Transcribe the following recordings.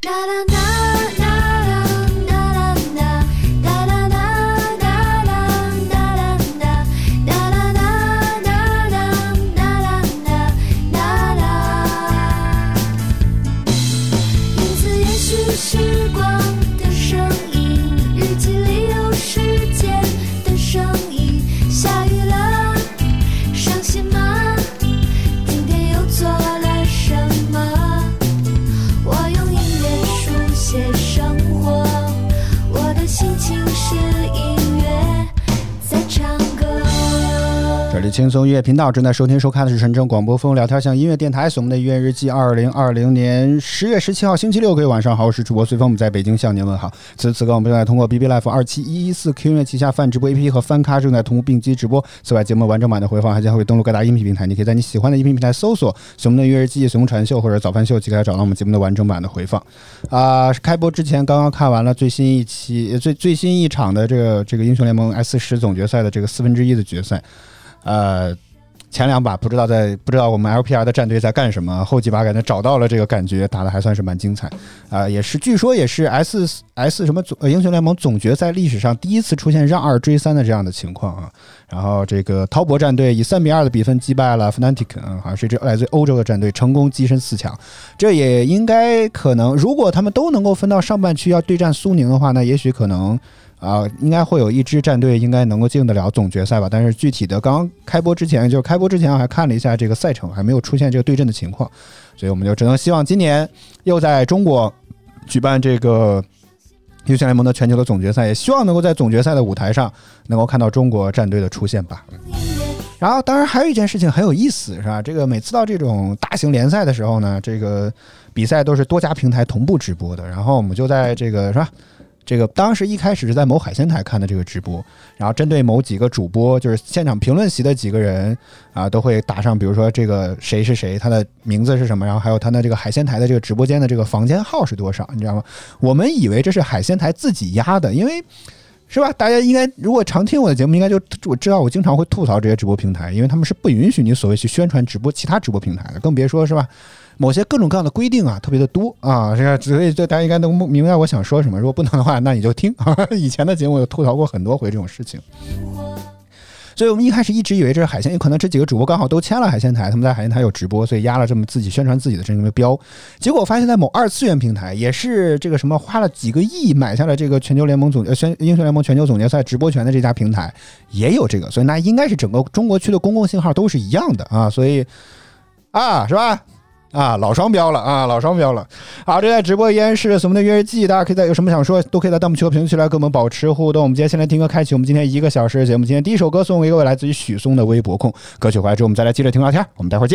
轻松音乐频道正在收听收看的是纯正广播风聊天向音乐电台，我们的音乐日记2020年10月17号星期六，各位晚上好，我是主播随风，我们在北京向您问好。此刻我们正在通过 BB Life 27114 Q 音乐旗下泛直播 APP 和翻咖正在同步并机直播。此外，节目完整版的回放还将会登录各大音频平台，你可以在你喜欢的音频平台搜索随风的音乐日记、随风传秀或者早饭秀，即可找到我们节目的完整版的回放。开播之前刚刚看完了最新一场的这个英雄联盟 S10 总决赛的这个1/4的决赛。前两把不知道我们 LPR 的战队在干什么，后几把感觉找到了这个感觉，打的还算是蛮精彩。据说也是 S 什么英雄联盟总决赛历史上第一次出现让2追3的这样的情况啊。然后这个滔博战队以3-2的比分击败了 Fnatic， 好像是这来自欧洲的战队，成功跻身4强。这也应该可能，如果他们都能够分到上半区要对战苏宁的话，那也许可能。应该会有一支战队应该能够进得了总决赛吧，但是具体的刚开播之前我还看了一下这个赛程，还没有出现这个对阵的情况，所以我们就只能希望今年又在中国举办这个英雄联盟的全球的总决赛，也希望能够在总决赛的舞台上能够看到中国战队的出现吧。然后当然还有一件事情很有意思，是吧？这个每次到这种大型联赛的时候呢，这个比赛都是多家平台同步直播的，然后我们就在这个是吧？这个当时一开始是在某海鲜台看的这个直播，然后针对某几个主播，就是现场评论席的几个人都会打上，比如说这个谁是谁，他的名字是什么，然后还有他的这个海鲜台的这个直播间的这个房间号是多少，你知道吗？我们以为这是海鲜台自己压的，因为是吧？大家应该如果常听我的节目，应该就我知道我经常会吐槽这些直播平台，因为他们是不允许你所谓去宣传直播其他直播平台的，更别说是吧？某些各种各样的规定特别的多所以大家应该能明白我想说什么。如果不能的话，那你就听以前的节目有吐槽过很多回这种事情。所以我们一开始一直以为这是海鲜，可能这几个主播刚好都签了海鲜台，他们在海鲜台有直播，所以压了这么自己宣传自己的这么标。结果我发现在某二次元平台，也是这个什么花了几个亿买下了这个全球联盟英雄联盟全球总决赛直播权的这家平台也有这个，所以那应该是整个中国区的公共信号都是一样的所以是吧？老双标了老双标了。好，这在直播依然是我们的约日记，大家可以在有什么想说都可以在弹幕区和评论区来跟我们保持互动。我们今天先来听歌，开启我们今天1个小时的节目。今天第一首歌送给各位来自于许嵩的微博控，歌曲回来之后我们再来接着听聊天，我们待会儿见。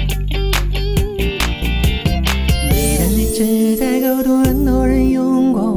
是在构图，很多人用过。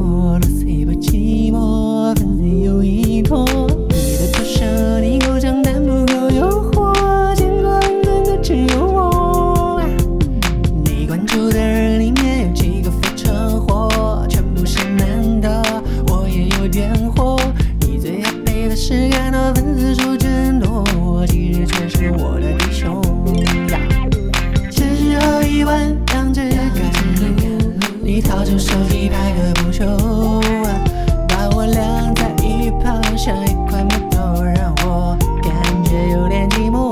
掏出手机拍个不休，把我晾在一旁，像一块木头，让我感觉有点寂寞。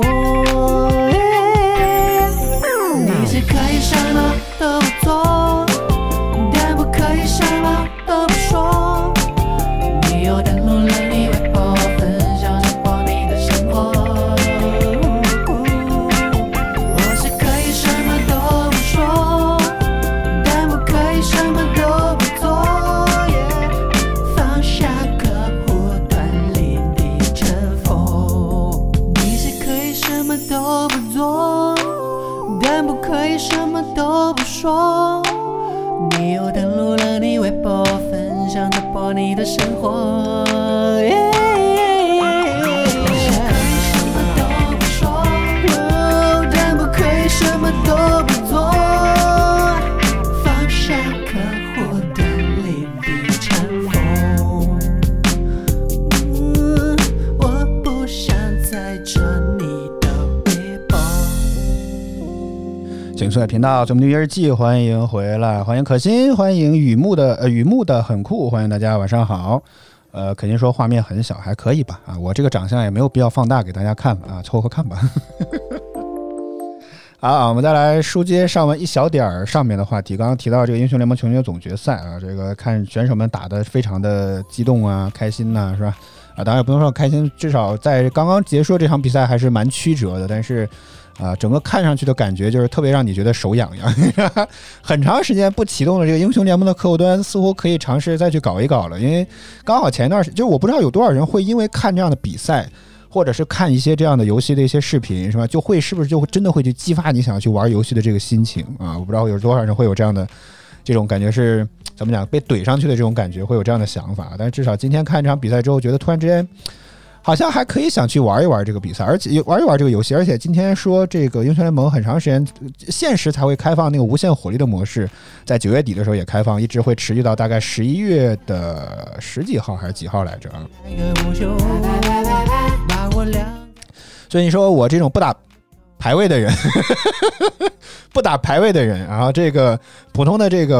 你是可以什么都不做，但不可以什么都不说。你又登录了你微博，分享直播你的生活。我是可以什么都不说，但不可以什么都不做。放下客户端里的尘封。你是可以什么都不做，但不可以什么都不说。你又登录了你微博，分享直播你的生活。但不可以什么都不做。放下客户端里的尘封。我不想再着你的微博。 景色频道，咱们的月日记，欢迎回来，欢迎可心，欢迎雨木的很酷，欢迎大家晚上好。肯定说画面很小，还可以吧？啊，我这个长相也没有必要放大给大家看吧？啊，凑合看吧。好，我们再来书接上文一小点上面的话题。刚刚提到这个英雄联盟球员总决赛啊，这个看选手们打得非常的激动啊，开心呐，是吧？啊，当然也不用说开心，至少在刚刚结束这场比赛还是蛮曲折的，但是。整个看上去的感觉就是特别让你觉得手痒痒，很长时间不启动的这个英雄联盟的客户端似乎可以尝试再去搞一搞了，因为刚好前一段时间，就是我不知道有多少人会因为看这样的比赛，或者是看一些这样的游戏的一些视频，是吧？是不是就真的会去激发你想要去玩游戏的这个心情啊？我不知道有多少人会有这样的这种感觉，是怎么讲被怼上去的这种感觉，会有这样的想法。但是至少今天看这场比赛之后，觉得突然之间。好像还可以想去玩一玩这个比赛，而且玩一玩这个游戏，而且今天说这个英雄联盟很长时间限时才会开放那个无限火力的模式，在9月底的时候也开放，一直会持续到大概11月的10几号还是几号来着啊？所以你说我这种不打排位的人不打排位的人，然后这个普通的这个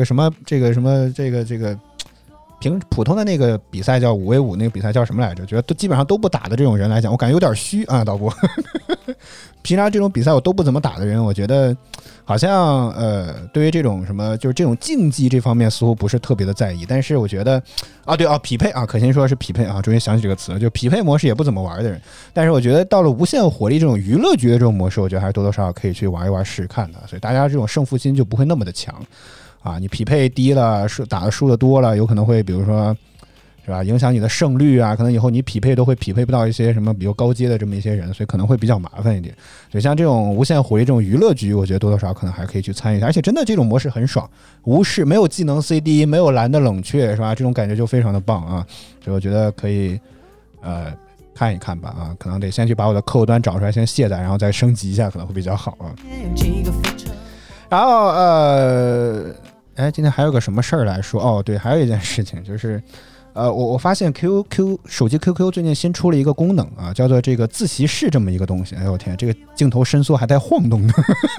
普通的那个比赛叫5v5，那个比赛叫什么来着？觉得基本上都不打的这种人来讲，我感觉有点虚啊，导播。平常这种比赛我都不怎么打的人，我觉得好像对于这种什么就是这种竞技这方面似乎不是特别的在意。但是我觉得匹配啊，可心说是匹配啊，终于想起这个词，就匹配模式也不怎么玩的人。但是我觉得到了无限火力这种娱乐局的这种模式，我觉得还是多多少少可以去玩一玩试试看的，所以大家这种胜负心就不会那么的强。啊，你匹配低了，打的输的多了，有可能会比如说，是吧，影响你的胜率啊，可能以后你匹配都会匹配不到一些什么比较高阶的这么一些人，所以可能会比较麻烦一点。所以像这种无限火力这种娱乐局，我觉得多多少少可能还可以去参与一下，而且真的这种模式很爽，无视没有技能 CD， 没有蓝的冷却，是吧？这种感觉就非常的棒啊！所以我觉得可以看一看吧啊，可能得先去把我的客户端找出来，先卸载，然后再升级一下，可能会比较好啊。然后今天还有个什么事儿来说？哦，对，还有一件事情就是，我发现 手机 QQ 最近新出了一个功能啊，叫做这个自习室这么一个东西。哎呦我天，这个镜头伸缩还带晃动的，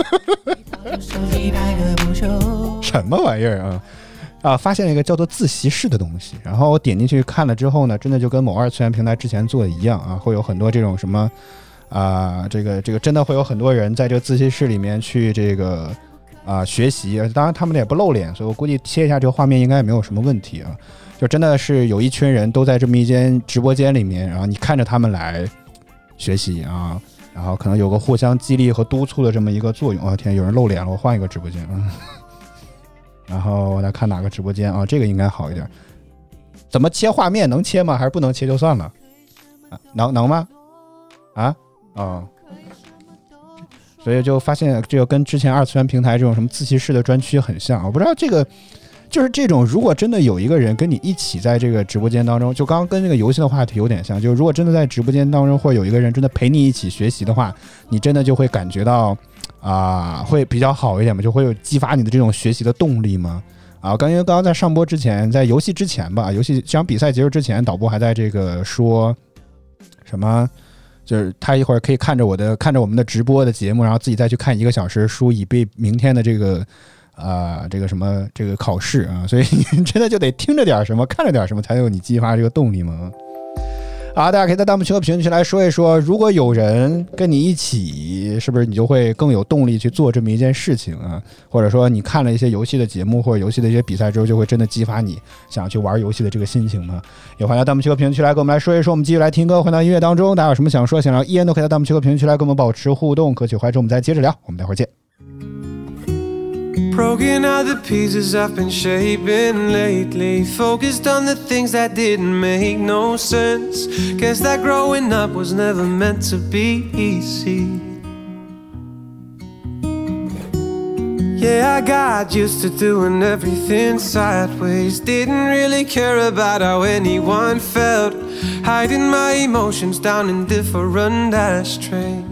什么玩意儿啊？发现了一个叫做自习室的东西，然后我点进去看了之后呢，真的就跟某二次元平台之前做的一样啊，会有很多这种什么这个真的会有很多人在这个自习室里面去这个。学习，当然他们也不露脸，所以我估计切一下这个画面应该也没有什么问题啊。就真的是有一群人都在这么一间直播间里面，然后你看着他们来学习啊，然后可能有个互相激励和督促的这么一个作用啊。天，有人露脸了，我换一个直播间然后我来看哪个直播间啊，这个应该好一点。怎么切画面？能切吗？还是不能切就算了？能吗？所以就发现这个跟之前二次元平台这种什么自习室的专区很像，我不知道这个就是这种，如果真的有一个人跟你一起在这个直播间当中，就刚刚跟这个游戏的话题有点像，就是如果真的在直播间当中会有一个人真的陪你一起学习的话，你真的就会感觉到会比较好一点嘛，就会有激发你的这种学习的动力嘛。因为刚刚在上播之前，在游戏之前吧，游戏这场比赛结束之前，导播还在这个说什么。就是他一会儿可以看着我们的直播的节目，然后自己再去看1个小时书，以备明天的这个这个什么这个考试啊，所以你真的就得听着点什么，看着点什么，才有你激发这个动力嘛。大家可以在弹幕区和评论区来说一说，如果有人跟你一起，是不是你就会更有动力去做这么一件事情啊？或者说你看了一些游戏的节目或者游戏的一些比赛之后，就会真的激发你想去玩游戏的这个心情吗？也欢迎弹幕区和评论区来跟我们来说一说。我们继续来听歌，回到音乐当中，大家有什么想说想聊依然都可以在弹幕区和评论区来跟我们保持互动。歌曲怀中我们再接着聊，我们待会儿见。 Broken out the pieces I've been shaping lately. Focused on the things that didn't make no sense. Guess that growing up was never meant to be easy. Yeah, I got used to doing everything sideways. Didn't really care about how anyone felt. Hiding my emotions down in different ashtrays.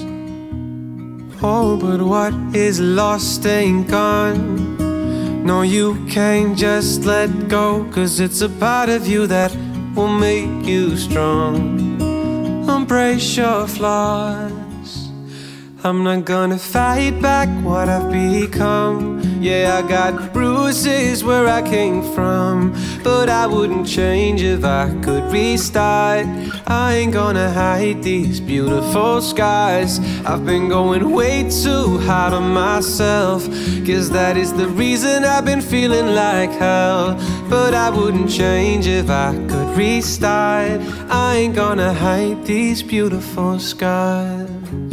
Oh, but what is lost ain't gone. No, you can't just let go, 'cause it's a part of you that will make you strong. Embrace your flaws. I'm not gonna fight back what I've become. Yeah, I got bruises where I came from, but I wouldn't change if I could restart. I ain't gonna hide these beautiful skies. I've been going way too hard on myself, 'cause that is the reason I've been feeling like hell. But I wouldn't change if I could restart. I ain't gonna hide these beautiful skies.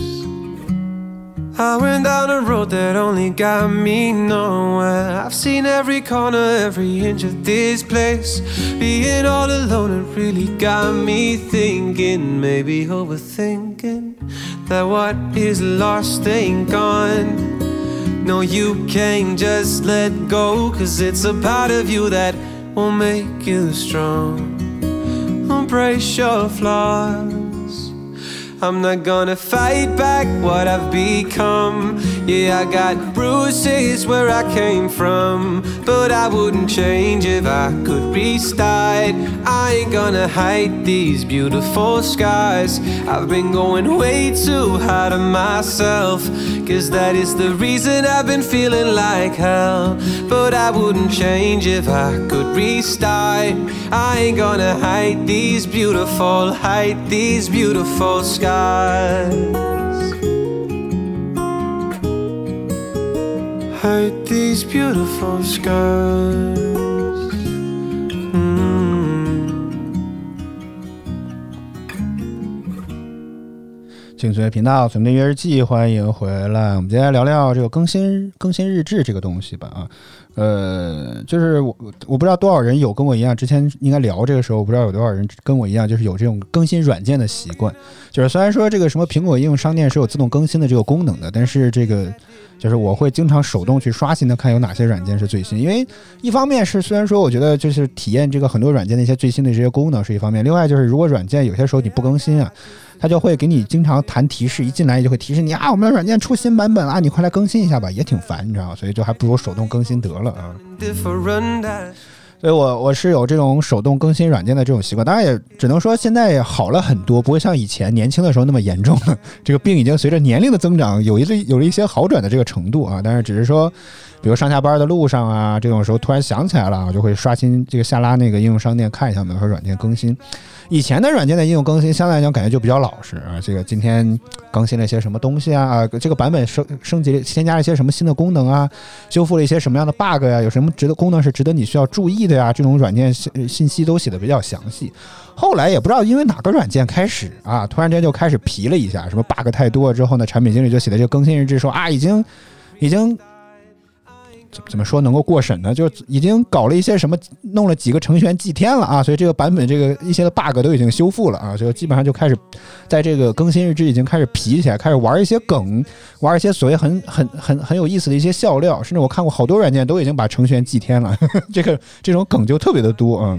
I went down a road that only got me nowhere. I've seen every corner, every inch of this place. Being all alone, it really got me thinking, maybe overthinking, that what is lost ain't gone. No, you can't just let go, 'cause it's a part of you that will make you strong. Embrace your flaws. I'm not gonna fight back what I've become. Yeah, I got bruises where I came from, but I wouldn't change if I could restart. I ain't gonna hide these beautiful skies. I've been going way too hard on myself, 'cause that is the reason I've been feeling like hell. But I wouldn't change if I could restart. I ain't gonna hide these beautiful skies. Hide these beautiful skies. 请随频道，存的约日记，欢迎回来。我们接下来聊聊这个更新日志这个东西吧啊。就是我不知道多少人有跟我一样，之前应该聊这个时候，我不知道有多少人跟我一样，就是有这种更新软件的习惯。就是虽然说这个什么苹果应用商店是有自动更新的这个功能的，但是这个就是我会经常手动去刷新的，看有哪些软件是最新。因为一方面是虽然说我觉得就是体验这个很多软件的一些最新的这些功能是一方面，另外就是如果软件有些时候你不更新啊，它就会给你经常弹提示，一进来就会提示你啊，我们的软件出新版本啊，你快来更新一下吧，也挺烦，你知道吗？所以就还不如手动更新得了啊。所以我是有这种手动更新软件的这种习惯，当然也只能说现在好了很多，不会像以前年轻的时候那么严重了。这个病已经随着年龄的增长有了一些好转的这个程度啊，但是只是说，比如上下班的路上啊，这种时候突然想起来了，我就会刷新这个下拉那个应用商店看一下有没有软件更新。以前的软件的应用更新相对来讲感觉就比较老实啊，这个今天更新了一些什么东西啊，这个版本升级添加了一些什么新的功能啊，修复了一些什么样的 bug 呀，有什么功能是值得你需要注意的呀，这种软件信息都写的比较详细。后来也不知道因为哪个软件开始啊，突然间就开始皮了一下，什么 bug 太多之后呢，产品经理就写的这个更新日志说啊，已经怎么说能够过审呢？就已经搞了一些什么，弄了几个程序员祭天了啊，所以这个版本这个一些的 bug 都已经修复了啊，所以基本上就开始在这个更新日志已经开始皮起来，开始玩一些梗，玩一些所谓很有意思的一些笑料，甚至我看过好多软件都已经把程序员祭天了，这种梗就特别的多啊。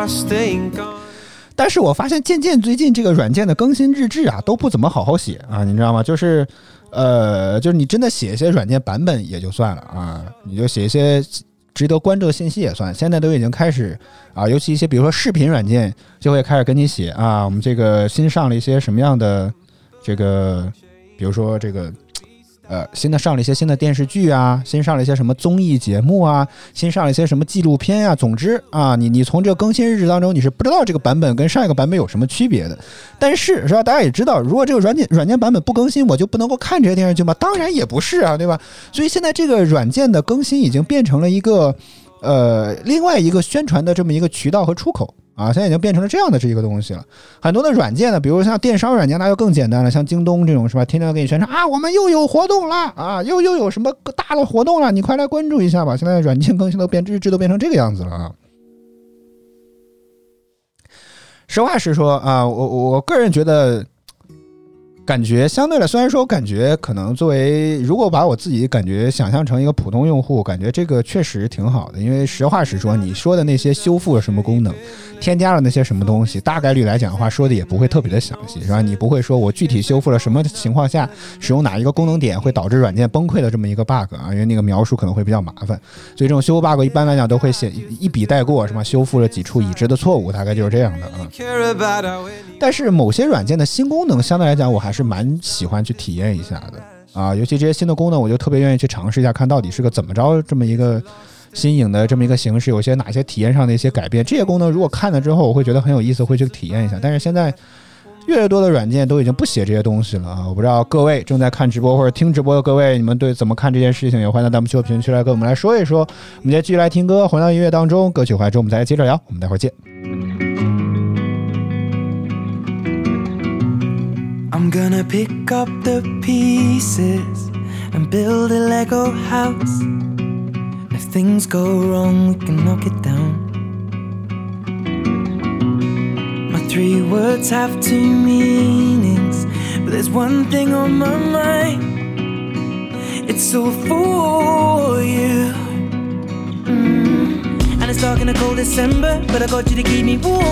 但是我发现渐渐最近这个软件的更新日志啊都不怎么好好写啊，你知道吗？就是你真的写一些软件版本也就算了啊，你就写一些值得关注的信息也算。现在都已经开始啊，尤其一些比如说视频软件就会开始跟你写啊，我们这个新上了一些什么样的这个，比如说这个新的上了一些新的电视剧啊，新上了一些什么综艺节目啊，新上了一些什么纪录片啊，总之啊，你从这个更新日志当中，你是不知道这个版本跟上一个版本有什么区别的。但是是吧，大家也知道，如果这个软件版本不更新，我就不能够看这些电视剧吗？当然也不是啊，对吧？所以现在这个软件的更新已经变成了一个另外一个宣传的这么一个渠道和出口。啊，现在已经变成了这样的这一个东西了。很多的软件呢，比如像电商软件，那就更简单了，像京东这种是吧，天天给你宣传啊，我们又有活动了啊，又有什么大的活动了，你快来关注一下吧。现在软件更新日志都变成这个样子了啊。实话实说啊，我个人觉得。感觉相对来，虽然说感觉可能作为，如果把我自己感觉想象成一个普通用户，感觉这个确实挺好的。因为实话实说，你说的那些修复了什么功能，添加了那些什么东西，大概率来讲的话，说的也不会特别的详细，是吧？你不会说我具体修复了什么情况下使用哪一个功能点会导致软件崩溃的这么一个 bug 啊，因为那个描述可能会比较麻烦。所以这种修复 bug 一般来讲都会写一笔带过，是吧？修复了几处已知的错误，大概就是这样的啊。但是某些软件的新功能，相对来讲，我还是蛮喜欢去体验一下的啊，尤其这些新的功能，我就特别愿意去尝试一下，看到底是个怎么着这么一个新颖的这么一个形式，有些哪些体验上的一些改变。这些功能如果看了之后，我会觉得很有意思，会去体验一下。但是现在越来越多的软件都已经不写这些东西了啊！我不知道各位正在看直播或者听直播的各位，你们对怎么看这件事情？也欢迎在弹幕区和评论区来跟我们来说一说。我们今天继续来听歌，回到音乐当中，歌曲回来之后我们再来接着聊。我们待会儿见。 I'm gonna pick up the pieces and build a Lego house. If things go wrong, we can knock it down. My 3 words have 2 meanings, but there's one thing on my mind. It's all for you. And it's dark in a cold December, but I got you to keep me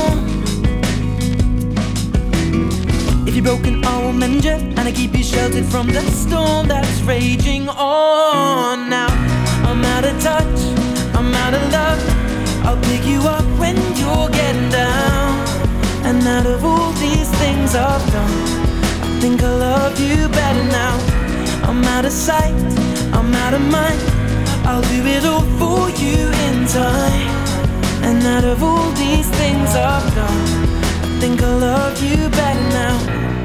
warm.If you're broken, I will mend you, and I keep you sheltered from the storm that's raging on. Now I'm out of touch, I'm out of love. I'll pick you up when you're getting down. And out of all these things I've done, I think I love you better now. I'm out of sight, I'm out of mind. I'll do it all for you in time. And out of all these things I've done,I think I love you better now.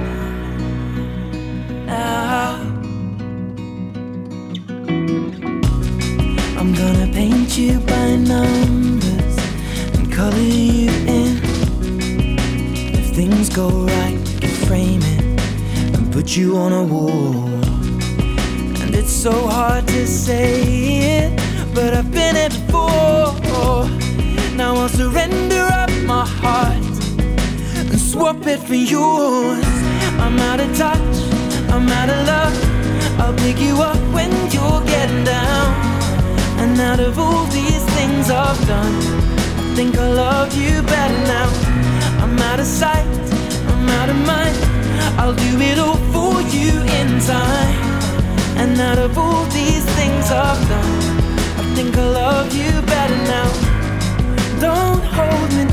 I'm gonna paint you by numbers and color you in. If things go right, we can frame it and put you on a wall. And it's so hard to say it, but I've been it before. Now I'll surrender up my heart,and swap it for yours. I'm out of touch, I'm out of love. I'll pick you up when you're getting down. And out of all these things I've done, I think I love you better now. I'm out of sight, I'm out of mind. I'll do it all for you in time. And out of all these things I've done, I think I love you better now. Don't hold me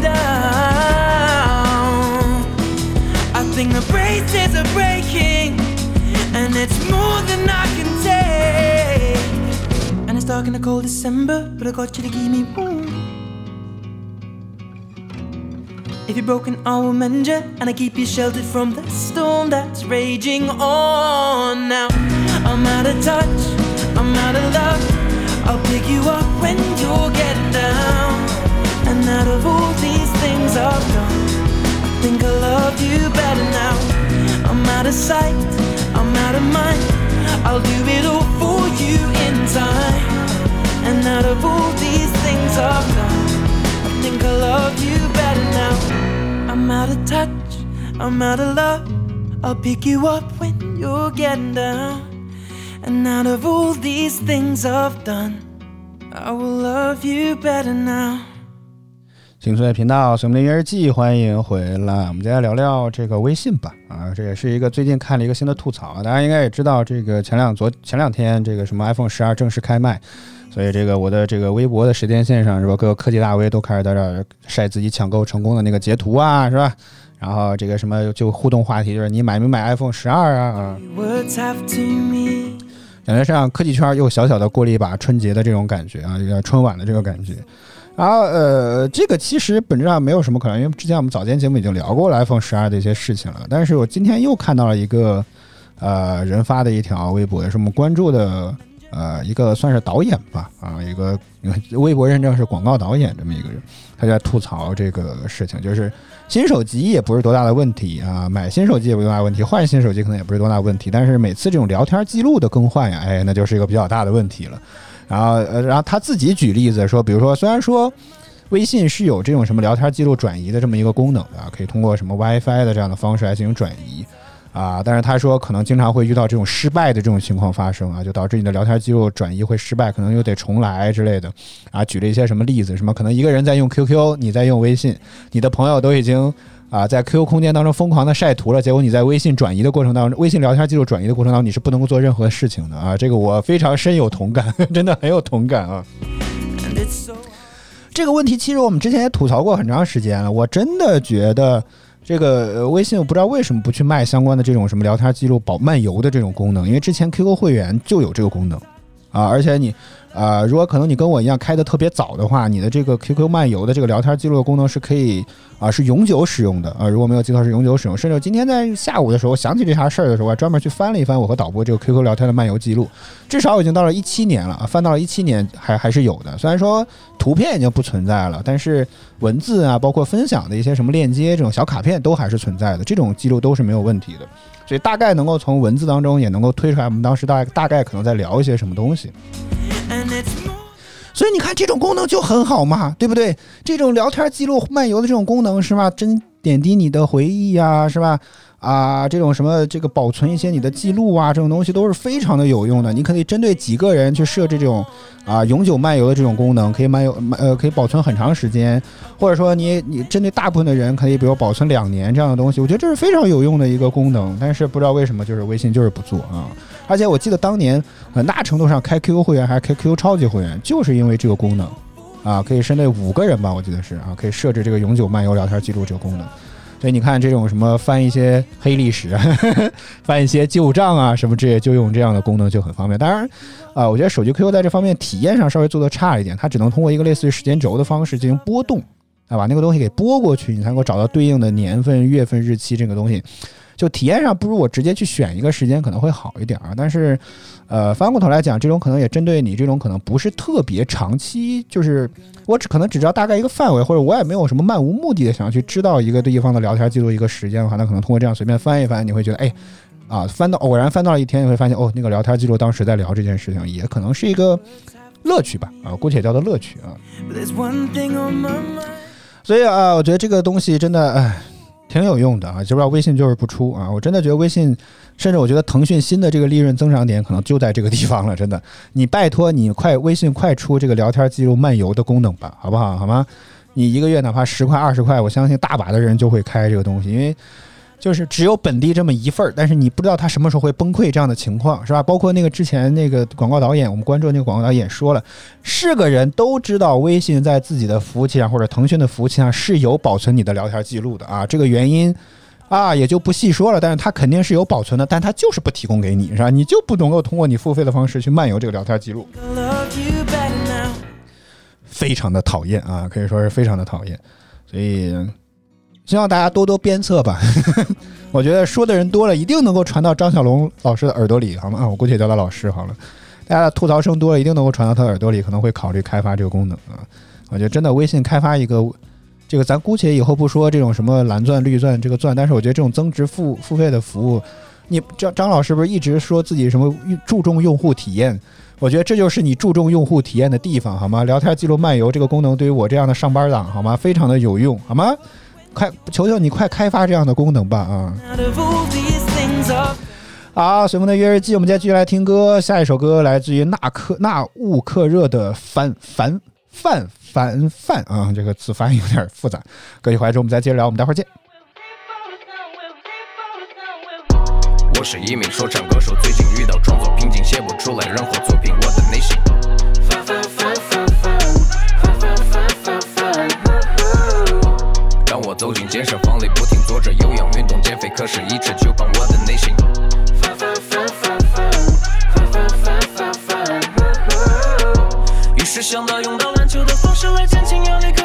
down.I think the braces are breaking, and it's more than I can take. And it's dark in the cold December, but I got you to keep me warm. If you're broken, I will mend you, and I keep you sheltered from the storm that's raging on. Now I'm out of touch, I'm out of love. I'll pick you up when you're getting down. And out of all these things I've done,I think I love you better now. I'm out of sight, I'm out of mind. I'll do it all for you in time. And out of all these things I've done, I think I love you better now. I'm out of touch, I'm out of love. I'll pick you up when you're getting down. And out of all these things I've done, I will love you better now. 请随频道，随我们的音乐日记，欢迎回来。我们接下来聊聊这个微信吧。啊，这也是一个最近看了一个新的吐槽。大家应该也知道，这个前两天这个什么 iPhone 12正式开卖，所以这个我的这个微博的时间线上是吧，各个科技大 V 都开始在这儿晒自己抢购成功的那个截图啊，是吧？然后这个什么就互动话题就是你买没买 iPhone 12啊？ 感觉上科技圈又小小的过了一把春节的这种感觉啊，春晚的这个感觉。然后这个其实本质上没有什么可能，因为之前我们早间节目已经聊过了 iPhone 12的一些事情了。但是我今天又看到了一个人发的一条微博，也是我们关注的一个算是导演吧一个微博认证是广告导演这么一个人，他在吐槽这个事情，就是新手机也不是多大的问题啊，买新手机也不是多大的问题，换新手机可能也不是多大的问题，但是每次这种聊天记录的更换呀，那就是一个比较大的问题了。然后他自己举例子说，比如说虽然说微信是有这种什么聊天记录转移的这么一个功能的，可以通过什么 WiFi 的这样的方式来进行转移但是他说可能经常会遇到这种失败的这种情况发生就导致你的聊天记录转移会失败，可能又得重来之类的举了一些什么例子，什么可能一个人在用 QQ， 你在用微信，你的朋友都已经在 QQ 空间当中疯狂的晒图了，结果你在微信转移的过程当中，微信聊天记录转移的过程当中，你是不能够做任何事情的这个我非常深有同感，真的很有同感这个问题其实我们之前也吐槽过很长时间了，我真的觉得这个微信我不知道为什么不去卖相关的这种什么聊天记录漫游的这种功能，因为之前 QQ 会员就有这个功能而且你如果可能你跟我一样开的特别早的话，你的这个 QQ 漫游的这个聊天记录的功能是可以是永久使用的如果没有记错是永久使用，甚至今天在下午的时候想起这茬事儿的时候，我还专门去翻了一翻我和导播这个 QQ 聊天的漫游记录，至少已经到了17年了翻到了17年还是有的，虽然说图片已经不存在了，但是文字包括分享的一些什么链接这种小卡片都还是存在的，这种记录都是没有问题的，所以大概能够从文字当中也能够推出来我们当时大概可能在聊一些什么东西。所以你看这种功能就很好嘛，对不对？这种聊天记录漫游的这种功能是吧，真点滴你的回忆是吧这种什么这个保存一些你的记录这种东西都是非常的有用的，你可以针对几个人去设置这种永久漫游的这种功能，可以可以保存很长时间，或者说你针对大部分的人可以比如保存2年这样的东西，我觉得这是非常有用的一个功能，但是不知道为什么就是微信就是不做而且我记得当年很大程度上开 QQ 会员还是开 QQ 超级会员，就是因为这个功能可以针对5个人吧，我记得是可以设置这个永久漫游聊天记录这个功能。所以你看这种什么翻一些黑历史翻一些旧账什么之类，就用这样的功能就很方便。当然我觉得手机 QQ 在这方面体验上稍微做得差一点，它只能通过一个类似于时间轴的方式进行波动把那个东西给拨过去，你才能够找到对应的年份月份日期，这个东西就体验上不如我直接去选一个时间可能会好一点但是翻过头来讲，这种可能也针对你这种可能不是特别长期，就是我可能只知道大概一个范围，或者我也没有什么漫无目的的想要去知道一个地方的聊天记录一个时间的话，那可能通过这样随便翻一翻，你会觉得偶然翻到了一天，你会发现那个聊天记录当时在聊这件事情，也可能是一个乐趣吧姑且叫做乐趣所以我觉得这个东西真的挺有用的就不知道微信就是不出我真的觉得微信，甚至我觉得腾讯新的这个利润增长点可能就在这个地方了，真的，你拜托你微信快出这个聊天记录漫游的功能吧，好不好？好吗？你一个月哪怕10块20块，我相信大把的人就会开这个东西，因为就是只有本地这么一份，但是你不知道他什么时候会崩溃这样的情况，是吧？包括那个之前那个广告导演，我们关注那个广告导演说了，是个人都知道微信在自己的服务器上或者腾讯的服务器上是有保存你的聊天记录的这个原因也就不细说了，但是他肯定是有保存的，但他就是不提供给你，是吧？你就不能够通过你付费的方式去漫游这个聊天记录，非常的讨厌可以说是非常的讨厌，所以希望大家多多鞭策吧我觉得说的人多了一定能够传到张小龙老师的耳朵里，好吗？我估计也叫他老师好了，大家的吐槽声多了一定能够传到他的耳朵里，可能会考虑开发这个功能我觉得真的微信开发一个这个，咱姑且以后不说这种什么蓝钻绿钻这个钻，但是我觉得这种增值付费的服务，你张老师不是一直说自己什么注重用户体验，我觉得这就是你注重用户体验的地方，好吗？聊天记录漫游这个功能对于我这样的上班党，好吗？非常的有用，好吗？求求你快开发这样的功能吧好，随风的约日记，我们接下继续来听歌，下一首歌来自于纳乌克热的范这个字发音有点复杂，歌曲回来之后我们再接着聊，我们待会儿见。 我是一名说唱歌手，最近遇到创作瓶颈，写不出来任何作品，我的内心让我走进健身房里，不停做着有氧运动减肥，可是一直就把我的内心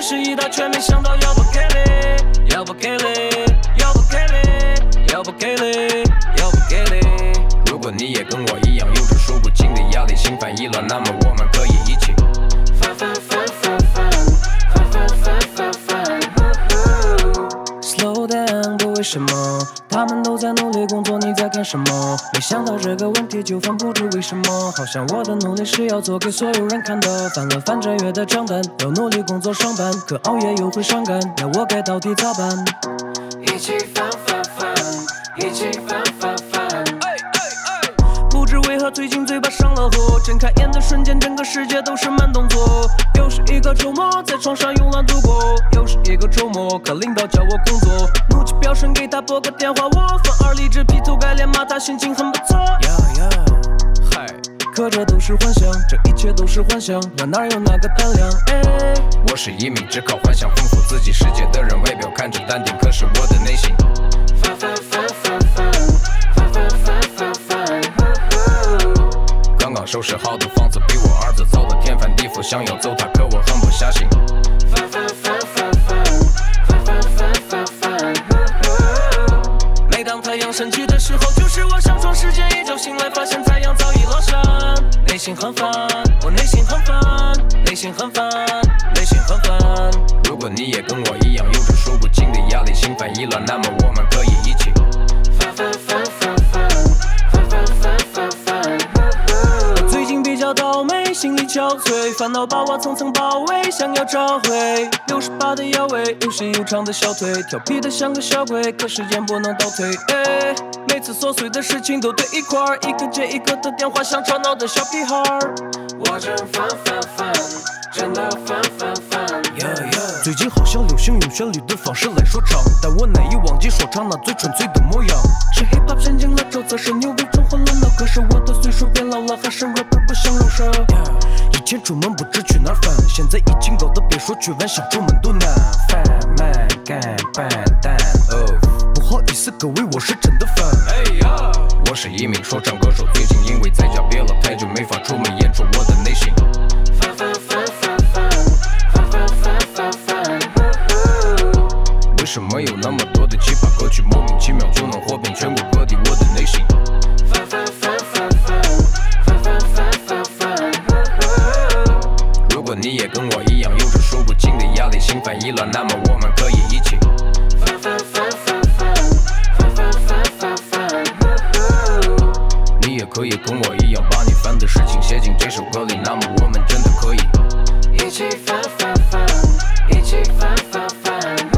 是一刀，却没想到要不给力，要不给力，要不给力，要不给力，要不给力。如果你也跟我一样有着数不清的压力，心烦意乱，那么我们可以一起翻翻翻翻翻翻翻翻翻翻。Slow down， 不为什么？他们都在努力工作，你在干什么？没想到这个问题就犯，不知为什么。好像我的努力是要做给所有人看的。翻了翻这月的账单，要努力工作上班，可熬夜又会伤感，那我该到底咋办？一起翻翻翻，一起翻翻翻。不知为何最近嘴巴上了火，睁开眼的瞬间，整个世界都是慢动作。又是一个周末，在床上慵懒度过。又是一个周末，可领导叫我工作，怒气飙升，给他拨个电话，我反而理智，劈头盖脸骂他，心情很不错。嗨，可这都是幻想，这一切都是幻想，我哪有那个胆量？我是一名只靠幻想丰富自己世界的人，外表看着淡定，可是我的内心翻翻翻翻翻翻翻翻翻翻。刚刚收拾好的房子，比我儿子造的天翻地覆，想要走它，可我狠不下心。翻翻翻翻翻翻翻翻翻翻。每当太阳升起的时候，就是我上床时间，一觉醒来发现太阳早已落山。内心很烦，我内心很烦，内心很烦，内心很烦。如果你也跟我一样有着数不清的压力，心烦意乱，那么我们可以一起翻翻翻翻翻翻翻翻翻翻。我最近比较倒霉，心力憔悴，烦恼把我层层包围，想要找回68的腰围，又细又长的小腿，调皮的像个小鬼，可时间不能倒退。每次琐碎的事情都对一块儿，一个接一个的电话像吵闹的小屁孩儿。我真烦烦烦，真的烦烦烦。最近好像流行用旋律的方式来说唱，但我难以忘记说唱那最纯粹的模样。是 hip hop 神经了之后，则是牛逼中混了脑，可是我的岁数变老了，还是 rapper 不想饶舌。以前出门不知去哪儿翻，现在已经高的别说去玩，想出门都难。贩卖干笨蛋不好意思各位，我是真的烦。我是一名说唱歌手，最近因为在家憋了太久，没法出门演出我的内心。翻翻翻翻翻翻翻翻翻翻。为什么有那么多的奇葩歌曲，莫名其妙就能火遍全国各地？我的内心翻翻翻翻翻翻翻翻翻翻。如果你也跟我一样有着数不清的压力，心烦意乱，那么我们可以一起翻翻翻翻翻翻翻翻翻翻。你也可以跟我一样，把你烦的事情写进这首歌里，那么我们真的可以一起翻翻翻，一起翻翻翻。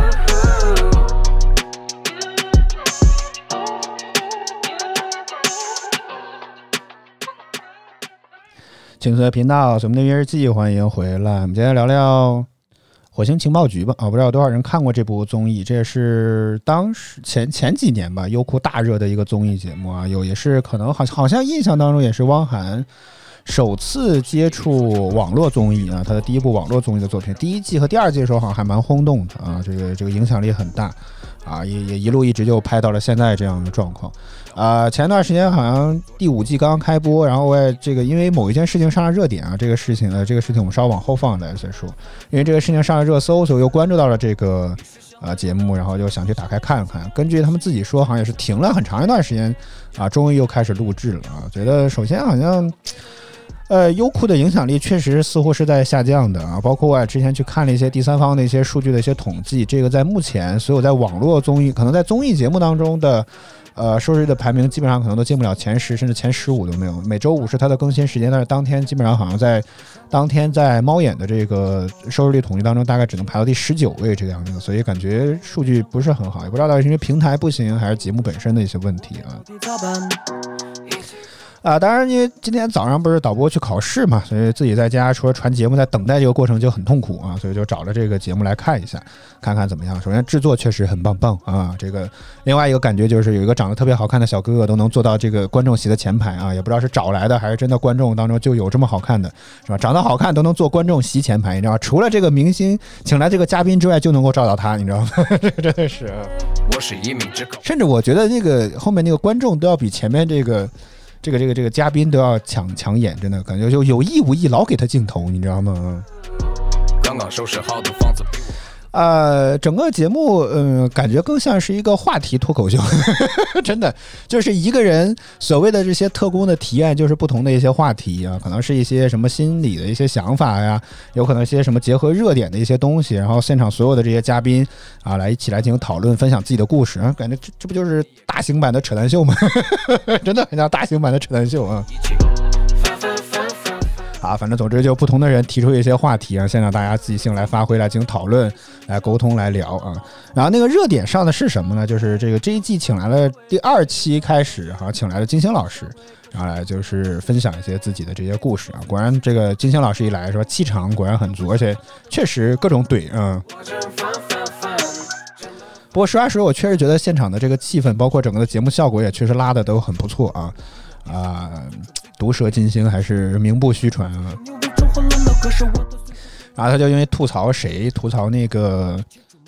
青色频道，我们的音乐日记，欢迎回来。我们今天聊聊火星情报局吧。不知道有多少人看过这部综艺，这也是当时前几年吧，优酷大热的一个综艺节目啊。也是可能好像印象当中也是汪涵首次接触网络综艺啊，他的第一部网络综艺的作品，第一季和第二季的时候好像还蛮轰动的啊，这个影响力很大啊，也一路一直就拍到了现在这样的状况。前段时间好像第5季刚刚开播，然后我也这个因为某一件事情上了热点啊，这个事情我们稍往后放再说，因为这个事情上了热搜，所以又关注到了这个节目，然后就想去打开看看。根据他们自己说，好像也是停了很长一段时间啊，终于又开始录制了啊。觉得首先好像优酷的影响力确实似乎是在下降的啊，包括我之前去看了一些第三方的一些数据的一些统计，这个在目前所有在网络综艺，可能在综艺节目当中的收视率的排名基本上可能都进不了前10，甚至前15都没有。每周5是它的更新时间，但是当天基本上好像在当天在猫眼的这个收视率统计当中，大概只能排到第19位这个样子，所以感觉数据不是很好，也不知道到底是因为平台不行，还是节目本身的一些问题啊。当然因为今天早上不是导播去考试嘛，所以自己在家除了传节目，在等待这个过程就很痛苦啊，所以就找了这个节目来看一下，看看怎么样。首先制作确实很棒啊，这个另外一个感觉就是有一个长得特别好看的小哥哥都能坐到这个观众席的前排啊，也不知道是找来的还是真的观众当中就有这么好看的，是吧？长得好看都能坐观众席前排，你知道吗？除了这个明星请来这个嘉宾之外，就能够照到他，你知道吗？这个真的是， 我是一名之口， 甚至我觉得那个后面那个观众都要比前面这个嘉宾都要抢眼，真的感觉就有意无意老给他镜头，你知道吗？ 香港收拾好的房子。 整个节目，感觉更像是一个话题脱口秀，真的就是一个人所谓的这些特工的提案，就是不同的一些话题啊，可能是一些什么心理的一些想法呀，有可能一些什么结合热点的一些东西，然后现场所有的这些嘉宾啊，来一起来进行讨论，分享自己的故事啊，感觉这不就是大型版的扯淡秀吗？真的很像大型版的扯淡秀啊。啊，反正总之就不同的人提出一些话题啊，现场大家自己性来发挥，来进行讨论，来沟通，来聊啊。然后那个热点上的是什么呢？就是这一季请来了第2期开始哈，请来了金星老师，然后来就是分享一些自己的这些故事啊。果然这个金星老师一来说，气场果然很足，而且确实各种怼啊。不过实话实说，我确实觉得现场的这个气氛，包括整个的节目效果，也确实拉的都很不错啊。毒舌金星还是名不虚传啊。然后他就因为吐槽谁，吐槽这个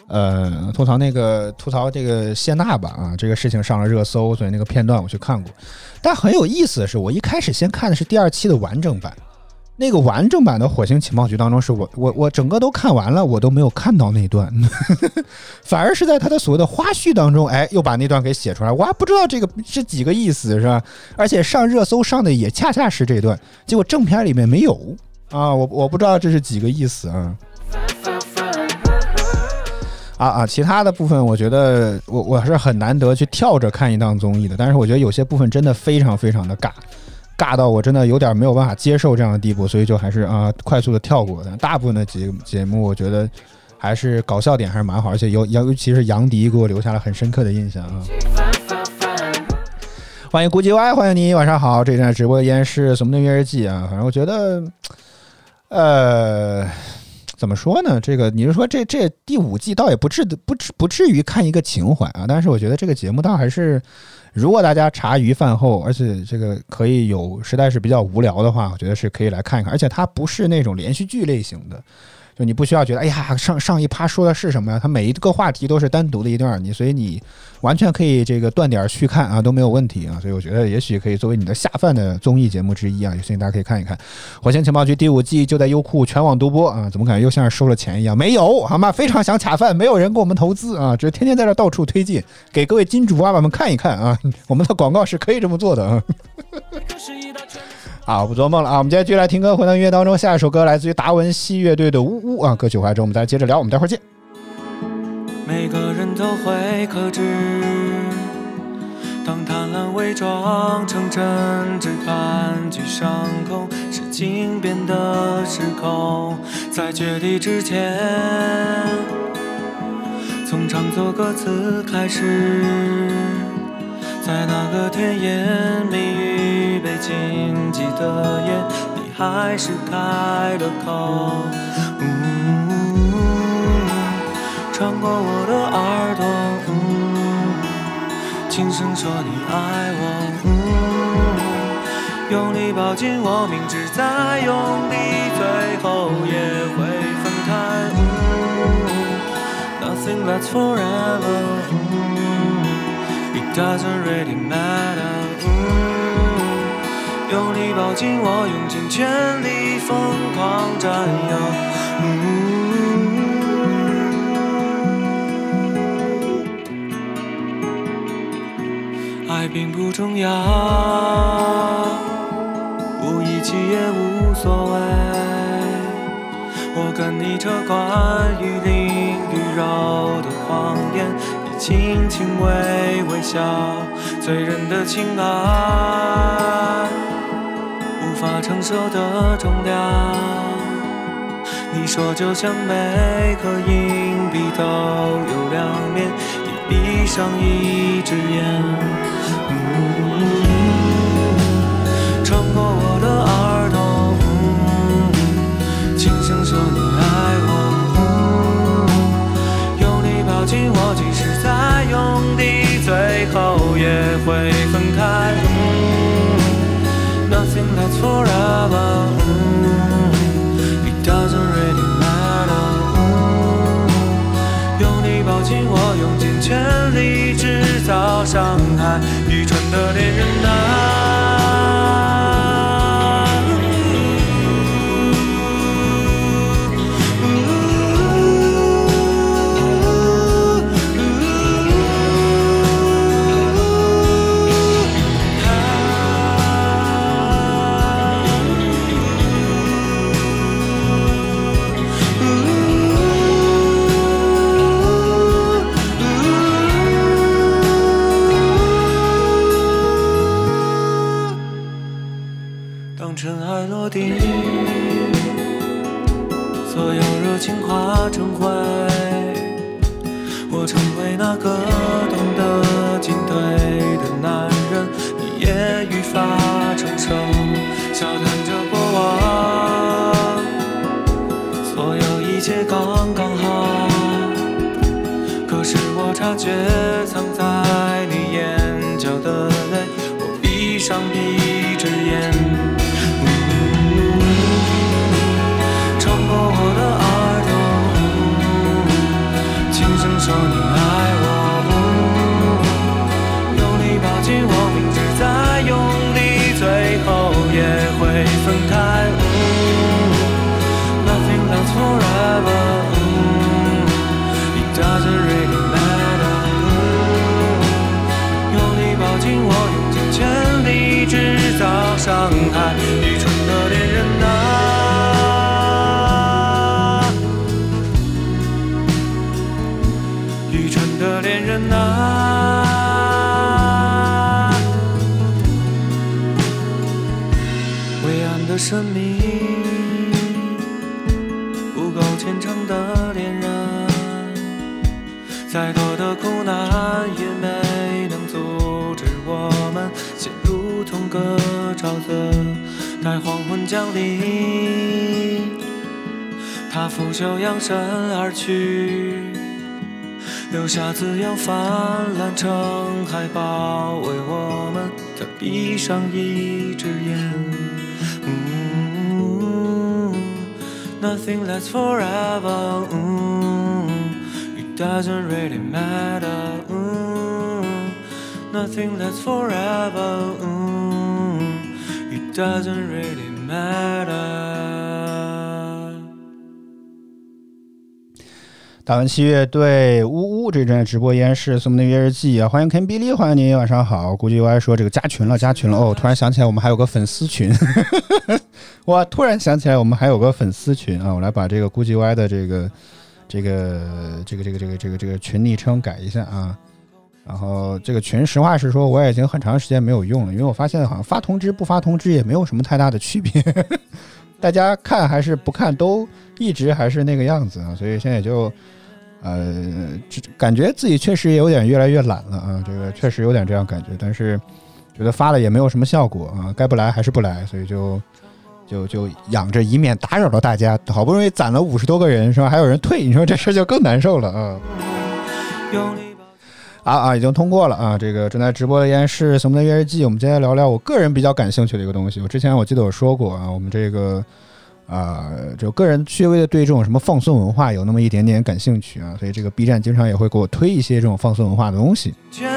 谢娜吧啊，这个事情上了热搜，所以那个片段我去看过。但很有意思的是，我一开始先看的是第2期的完整版。那个完整版的火星情报局当中，是我整个都看完了，我都没有看到那段，反而是在他的所谓的花絮当中，哎，又把那段给写出来，我还不知道这个是几个意思，是吧？而且上热搜上的也恰恰是这段，结果正片里面没有啊，我不知道这是几个意思啊。其他的部分我觉得我是很难得去跳着看一档综艺的，但是我觉得有些部分真的非常非常的尬到我真的有点没有办法接受这样的地步，所以就还是快速的跳过。但大部分的节目我觉得还是搞笑点还是蛮好，而且尤其是杨迪给我留下了很深刻的印象啊。欢迎古吉歪，欢迎你，晚上好。这站直播依然是什么的音乐日记啊？反正我觉得怎么说呢？这个你是说这第5季倒也不至于看一个情怀啊，但是我觉得这个节目倒还是，如果大家茶余饭后，而且这个可以实在是比较无聊的话，我觉得是可以来看一看。而且它不是那种连续剧类型的，就你不需要觉得哎呀上一趴说的是什么呀？它每一个话题都是单独的一段，所以你完全可以这个断点去看啊，都没有问题啊。所以我觉得也许可以作为你的下饭的综艺节目之一啊，有兴趣大家可以看一看。火星情报局第5季就在优酷全网独播啊，怎么感觉又像是收了钱一样？没有好吗？非常想卡饭，没有人给我们投资啊，只是天天在这到处推进，给各位金主爸爸们看一看啊，我们的广告是可以这么做的啊。好，不做梦了啊！我们接着继续来听歌，回到音乐当中，下一首歌来自于达文西乐队的《呜呜》啊。歌曲回来之后，我们再接着聊，我们待会儿见。 每个人都会克制，当贪婪伪装成真挚，盘踞上空，事情变得失控。在决堤之前，从唱作歌词开始，在那个甜言蜜语被禁忌的夜，你还是开了口，穿过我的耳朵，轻声说你爱我，用力抱紧我，明知再用力最后也会分开，Nothing lasts forever, It doesn't really matter, 用力抱紧我，用尽全力疯狂占有，爱并不重要，不义气也无所谓，我跟你这关于灵与肉的谎言，你轻轻微笑，醉人的情爱无法承受的重量，你说就像每颗硬币都有2面，你闭上一只眼，穿过我的耳朵，轻声说你爱我，用力抱紧我，即使再用力最后也会分开，Nothing lasts forever, It doesn't really matter, 用力抱紧我，用尽全力制造伤害，愚蠢的恋人啊， 那个懂得进退的男人，你也愈发成熟，笑谈着过往，所有一切刚刚好。可是我察觉藏在你眼角的泪，我闭上一只眼，穿过我的耳朵，轻声说你爱我，用力抱紧我，明知再用力最后也会分开。Nothing lasts forever, it doesn't really matter. 用力抱紧我，用尽全力制造伤害，愚蠢的恋人啊，愚蠢的恋人啊。灰暗的生命，不够虔诚的恋人，再多的苦难也没能阻止我们陷入同个沼泽。待黄昏降临，他拂袖扬身而去，留下滋养泛滥成海包围我们，他闭上一只眼。Nothing lasts forever, it doesn't really matter. Nothing lasts forever, it doesn't really matter. 大文七乐队呜呜这阵直播依然是我们的乐日记啊，欢迎 Ken Billy， 欢迎您，晚上好。估计我还说这个加群了哦，突然想起来我们还有个粉丝群，我突然想起来我们还有个粉丝群啊，我来把这个估计歪的这个群昵称改一下啊。然后这个群实话实说我也已经很长时间没有用了，因为我发现好像发通知不发通知也没有什么太大的区别，大家看还是不看都一直还是那个样子啊，所以现在也就感觉自己确实也有点越来越懒了啊，这个确实有点这样感觉，但是觉得发了也没有什么效果啊，该不来还是不来，所以就养着，以免打扰到大家。好不容易攒了50多个人是吧？还有人退，你说这事就更难受了啊！已经通过了啊！这个正在直播的依然是什么的乐日记，我们今天聊聊我个人比较感兴趣的一个东西。我之前我记得我说过啊，我们这个就个人稍微的对这种什么放送文化有那么一点点感兴趣啊，所以这个 B 站经常也会给我推一些这种放送文化的东西。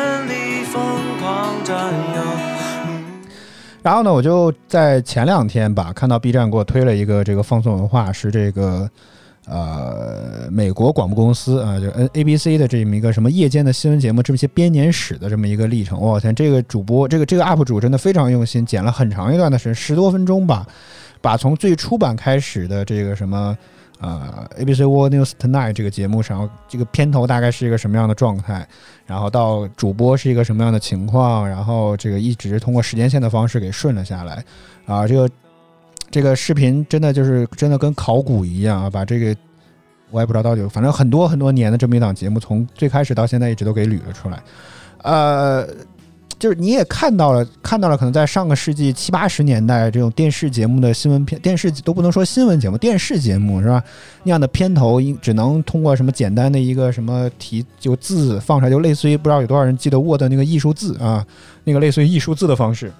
然后呢，我就在前2天吧，看到 B 站给我推了一个这个放送文化，是这个美国广播公司啊，就 ABC 的这么一个什么夜间的新闻节目，这么一些编年史的这么一个历程。我天，这个主播这个 UP 主真的非常用心，剪了很长一段的时间，10多分钟吧，把从最初版开始的这个什么ABC World News Tonight 这个节目上，这个片头大概是一个什么样的状态，然后到主播是一个什么样的情况，然后这个一直通过时间线的方式给顺了下来啊，这个视频真的跟考古一样啊，把这个我也不知道到底，反正很多很多年的这么一档节目，从最开始到现在一直都给捋了出来，就是你也看到了，可能在上个世纪70、80年代这种电视节目的新闻片，电视都不能说新闻节目，电视节目是吧？那样的片头只能通过什么简单的一个什么就字放出来，就类似于不知道有多少人记得 Word 那个艺术字啊，那个类似于艺术字的方式。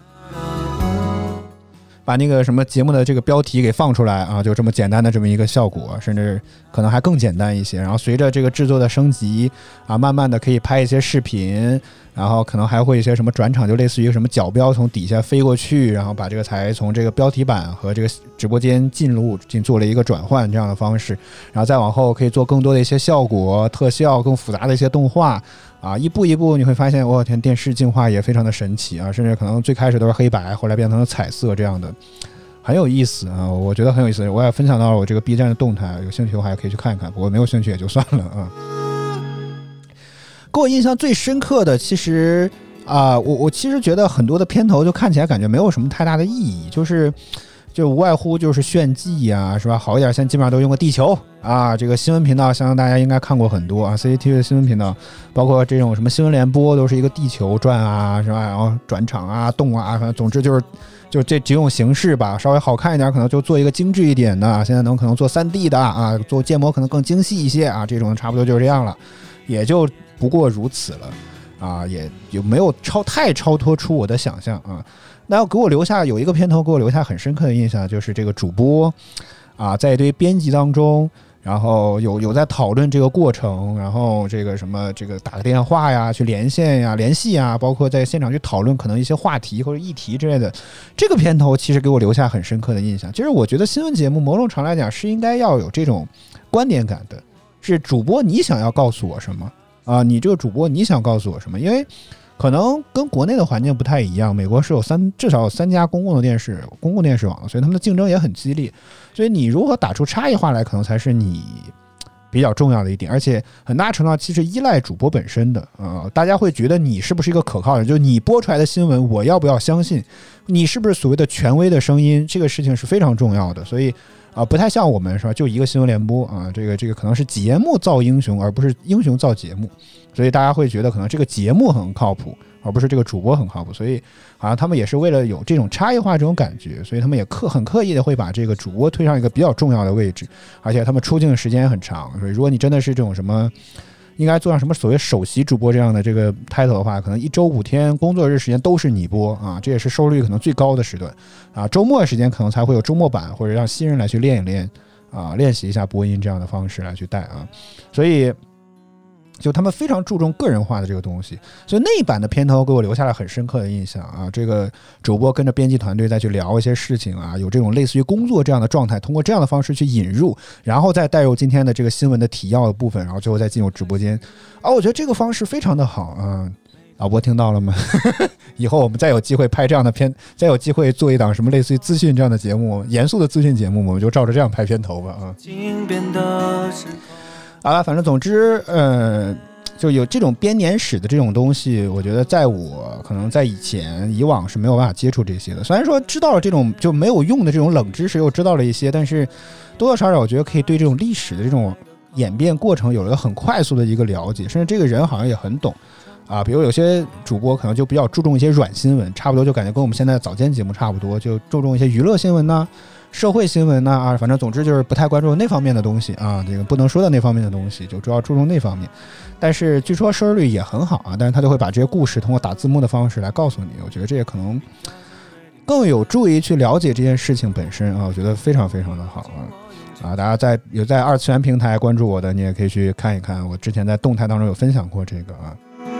把那个什么节目的这个标题给放出来啊，就这么简单的这么一个效果，甚至可能还更简单一些。然后随着这个制作的升级啊，慢慢的可以拍一些视频，然后可能还会一些什么转场，就类似于什么角标从底下飞过去，然后把这个才从这个标题板和这个直播间进做了一个转换这样的方式，然后再往后可以做更多的一些效果、特效、更复杂的一些动画。啊，一步一步你会发现，我天，电视进化也非常的神奇啊！甚至可能最开始都是黑白，后来变成了彩色这样的，很有意思啊！我觉得很有意思，我也分享到了我这个 B 站的动态，有兴趣的话也可以去看一看，不过没有兴趣也就算了啊。给我印象最深刻的，其实我其实觉得很多的片头就看起来感觉没有什么太大的意义，就是就无外乎就是炫技呀，是吧？好一点，现在基本上都用个地球啊。这个新闻频道，相信大家应该看过很多啊 ，CCTV 的新闻频道，包括这种什么新闻联播，都是一个地球转啊，是吧？然后转场啊、动啊，反正总之就这几种形式吧。稍微好看一点，可能就做一个精致一点的，现在可能做3D 的啊，做建模可能更精细一些啊，这种差不多就是这样了，也就不过如此了啊，也没有太超脱出我的想象啊。那要给我留下有一个片头给我留下很深刻的印象，就是这个主播啊，在一堆编辑当中，然后有在讨论这个过程，然后这个什么这个打个电话呀，去连线呀、联系呀，包括在现场去讨论可能一些话题或者议题之类的。这个片头其实给我留下很深刻的印象。就是我觉得新闻节目某种程度来讲是应该要有这种观点感的，是主播你想要告诉我什么啊？你这个主播你想告诉我什么？因为可能跟国内的环境不太一样，美国是有至少有3家公共电视网，所以他们的竞争也很激烈，所以你如何打出差异化来，可能才是你比较重要的一点，而且很大程度上其实依赖主播本身的大家会觉得你是不是一个可靠的人，就是你播出来的新闻我要不要相信，你是不是所谓的权威的声音，这个事情是非常重要的。所以不太像我们是吧，就一个新闻联播啊，这个可能是节目造英雄，而不是英雄造节目，所以大家会觉得可能这个节目很靠谱，而不是这个主播很靠谱，所以好像他们也是为了有这种差异化这种感觉，所以他们也很刻意的会把这个主播推上一个比较重要的位置，而且他们出镜的时间也很长，所以如果你真的是这种什么应该做上什么所谓首席主播这样的这个 title 的话，可能1周5天工作日时间都是你播啊，这也是收视率可能最高的时段啊。周末的时间可能才会有周末版，或者让新人来去练一练啊，练习一下播音这样的方式来去带啊。所以就他们非常注重个人化的这个东西，所以那一版的片头给我留下了很深刻的印象啊。这个主播跟着编辑团队再去聊一些事情啊，有这种类似于工作这样的状态，通过这样的方式去引入，然后再带入今天的这个新闻的提要的部分，然后最后再进入直播间啊。我觉得这个方式非常的好啊。老播听到了吗？以后我们再有机会拍这样的片，再有机会做一档什么类似于资讯这样的节目，严肃的资讯节目，我们就照着这样拍片头吧啊。反正总之就有这种编年史的这种东西，我觉得在我可能在以往是没有办法接触这些的。虽然说知道了这种就没有用的这种冷知识，又知道了一些，但是多多少少我觉得可以对这种历史的这种演变过程有了很快速的一个了解，甚至这个人好像也很懂啊。比如有些主播可能就比较注重一些软新闻，差不多就感觉跟我们现在的早间节目差不多，就注重一些娱乐新闻呐、社会新闻呐反正总之就是不太关注那方面的东西啊，这个不能说的那方面的东西，就主要注重那方面。但是据说收视率也很好啊，但是他就会把这些故事通过打字幕的方式来告诉你，我觉得这也可能更有助于去了解这件事情本身啊，我觉得非常非常的好啊！大家有在二次元平台关注我的，你也可以去看一看，我之前在动态当中有分享过这个啊。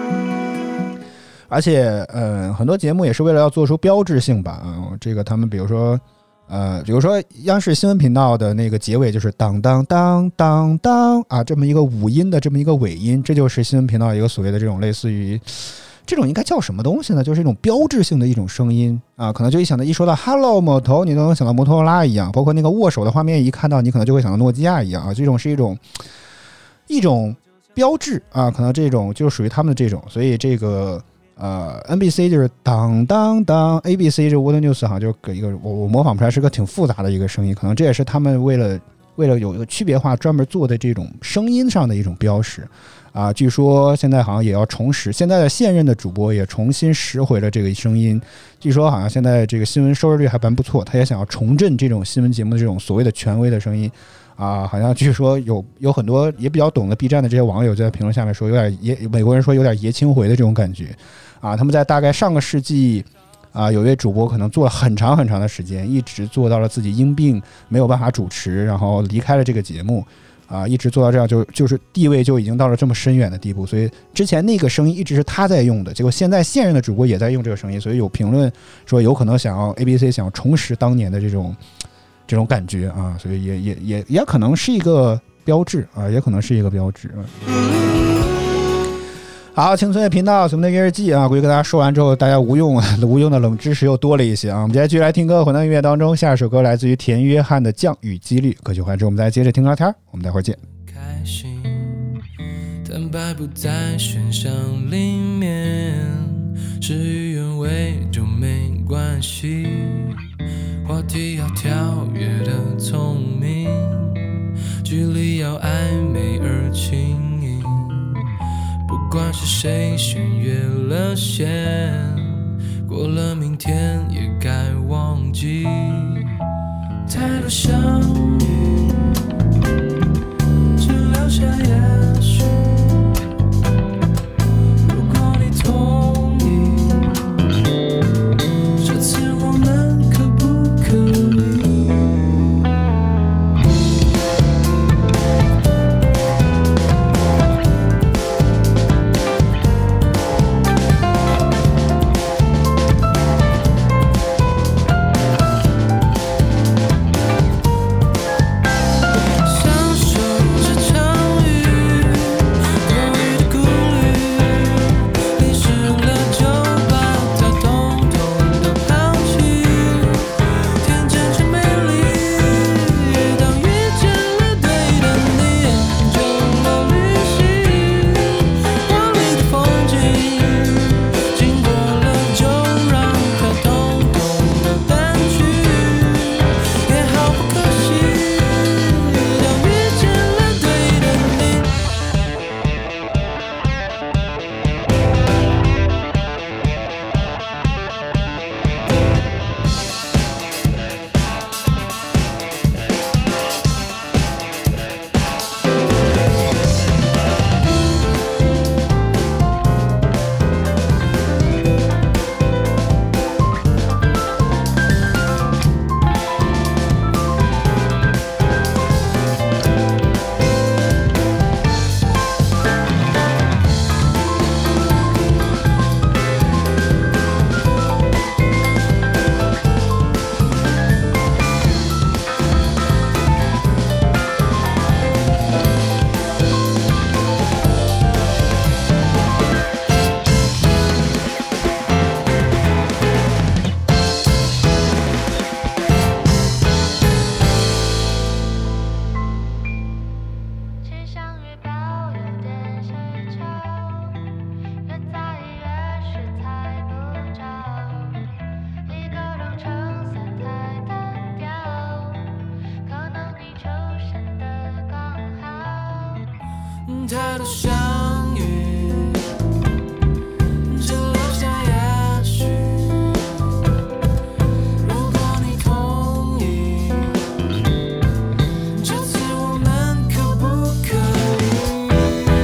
而且很多节目也是为了要做出标志性吧这个他们比如说央视新闻频道的那个结尾就是当当当当当啊，这么一个五音的这么一个尾音，这就是新闻频道一个所谓的这种类似于这种应该叫什么东西呢？就是一种标志性的一种声音啊，可能就一说到 Hello 摩托，你都能想到摩托罗拉一样，包括那个握手的画面一看到，你可能就会想到诺基亚一样啊，这种是一种标志啊，可能这种就属于他们的这种，所以这个。NBC 就是当当当 ，ABC 这 World News 好像就给一个我模仿不出来，是个挺复杂的一个声音，可能这也是他们为了有一个区别化专门做的这种声音上的一种标识啊。据说现在好像也要重拾，现在的现任的主播也重新拾回了这个声音。据说好像现在这个新闻收视率还蛮不错，他也想要重振这种新闻节目的这种所谓的权威的声音。好像据说有很多也比较懂的 B 站的这些网友在评论下面说，美国人说有点爷青回的这种感觉啊。他们在大概上个世纪有一位主播可能做了很长很长的时间，一直做到了自己因病没有办法主持，然后离开了这个节目一直做到这样就是地位就已经到了这么深远的地步。所以之前那个声音一直是他在用的，结果现在现任的主播也在用这个声音，所以有评论说有可能想要 ABC 想要重拾当年的这种感觉啊，所以也可能是一个标志啊，也可能是一个标志好，青春的频道，我们的月日记啊，估计跟大家说完之后，大家无用的冷知识又多了一些啊。我们接下来继续来听歌，混到音乐当中，下一首歌来自于田约翰的《降雨几率》。歌曲完之后，我们再接着听聊天，我们待会儿见。 开心，坦白不在选项里面，事与愿违就没关系。 话题要跳跃的聪明，距离要暧昧而轻盈，不管是谁先越了线，过了明天也该忘记。太多相遇，只留下也许。如果你同意，这次我们可不可以？太多相遇，只留下也许。如果你同意，这次我们可不可以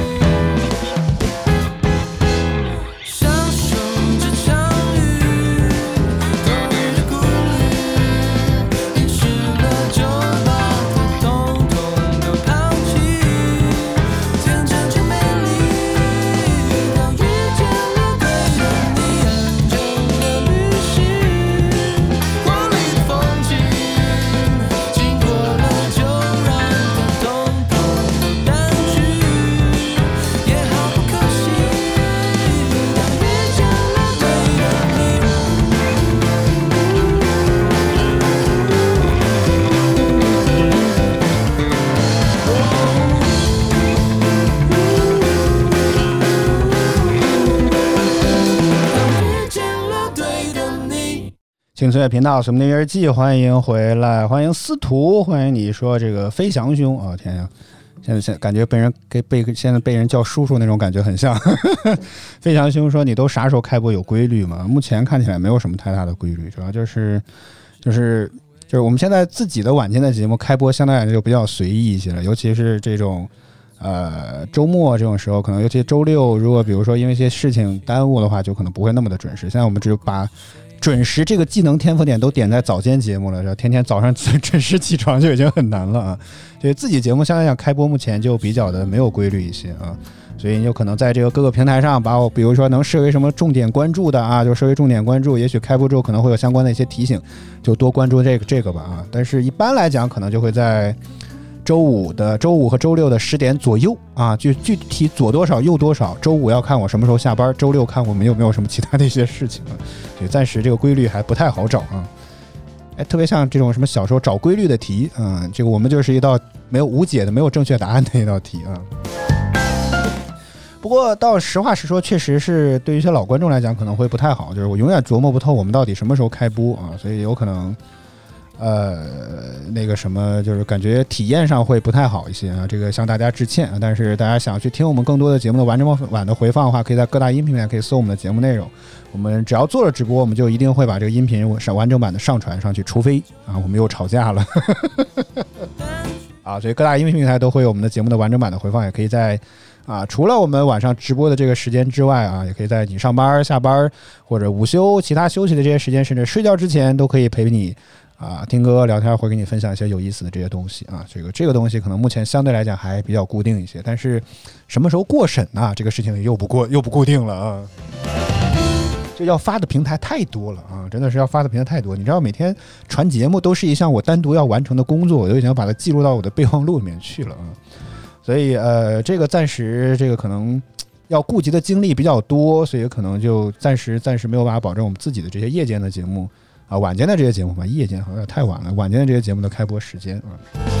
享受这场雨？多余的顾虑，淋湿了就把它统统都抛弃。 青翠频道，我们的日记，欢迎回来，欢迎司徒，欢迎你说这个飞翔兄啊、哦！天呀，现在感觉现在被人叫叔叔那种感觉很像。飞翔兄说：“你都啥时候开播有规律吗？”目前看起来没有什么太大的规律，主要就是我们现在自己的晚间的节目开播相对来讲就比较随意一些了，尤其是这种周末这种时候，可能尤其周六，如果比如说因为一些事情耽误的话，就可能不会那么的准时。现在我们只把准时这个技能天赋点都点在早间节目了，天天早上准时起床就已经很难了啊。所以自己节目相对来讲开播目前就比较的没有规律一些啊，所以你有可能在这个各个平台上把我比如说能设为什么重点关注的啊，就设为重点关注，也许开播之后可能会有相关的一些提醒，就多关注这个吧啊。但是一般来讲可能就会在周五和周六的10点左右啊，就具体左多少右多少。周五要看我什么时候下班，周六看我们有没有什么其他的一些事情啊。所以暂时这个规律还不太好找啊。特别像这种什么小时候找规律的题，这个我们就是一道没有无解的、没有正确答案的一道题啊。不过到实话实说，确实是对于一些老观众来讲可能会不太好，就是我永远琢磨不透我们到底什么时候开播啊，所以有可能。 那个什么，就是感觉体验上会不太好一些啊，这个向大家致歉啊。但是大家想去听我们更多的节目的完整版的回放的话，可以在各大音频平台可以搜我们的节目内容。我们只要做了直播，我们就一定会把这个音频完整版的上传上去，除非啊我们又吵架了啊，所以各大音频平台都会有我们的节目的完整版的回放，也可以在除了我们晚上直播的这个时间之外啊，也可以在你上班、下班或者午休、其他休息的这些时间，甚至睡觉之前，都可以陪你听歌、聊天，会给你分享一些有意思的这些东西啊。这个东西可能目前相对来讲还比较固定一些，但是什么时候过审呢？这个事情又不固定了啊。这要发的平台太多了啊，真的是要发的平台太多。你知道每天传节目都是一项我单独要完成的工作，我都已经把它记录到我的备忘录里面去了啊。所以这个暂时这个可能要顾及的精力比较多，所以可能就暂时没有办法保证我们自己的这些夜间的节目晚间的这些节目吧，夜间好像太晚了，晚间的这些节目的开播时间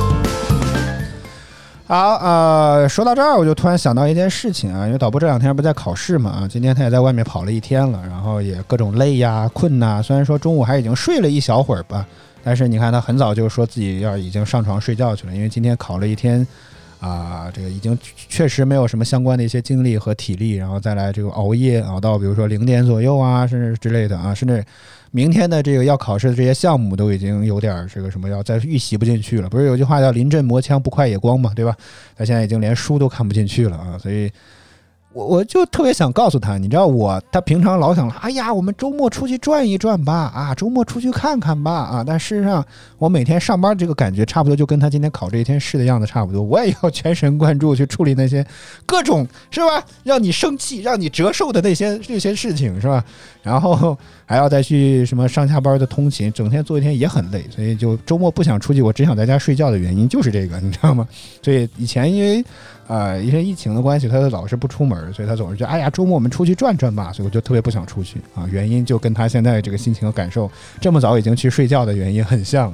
好说到这儿我就突然想到一件事情因为导播这2天不在考试嘛今天他也在外面跑了1天了，然后也各种累呀困呐，虽然说中午还已经睡了一小会儿吧，但是你看他很早就说自己已经上床睡觉去了，因为今天考了1天这个已经确实没有什么相关的一些精力和体力，然后再来这个熬夜熬到比如说0点左右甚至之类的甚至明天的这个要考试的这些项目都已经有点这个什么要再预习不进去了，不是有句话叫临阵磨枪不快也光嘛，对吧？他现在已经连书都看不进去了所以我就特别想告诉他，你知道他平常老想哎呀我们周末出去转一转吧周末出去看看吧但事实上我每天上班这个感觉差不多就跟他今天考这1天试的样子差不多，我也要全神贯注去处理那些各种是吧让你生气让你折寿的那些事情是吧，然后还要再去什么上下班的通勤，整天做1天也很累，所以就周末不想出去，我只想在家睡觉的原因就是这个你知道吗？所以以前因为疫情的关系他老是不出门，所以他总是觉得哎呀周末我们出去转转吧，所以我就特别不想出去原因就跟他现在这个心情和感受这么早已经去睡觉的原因很像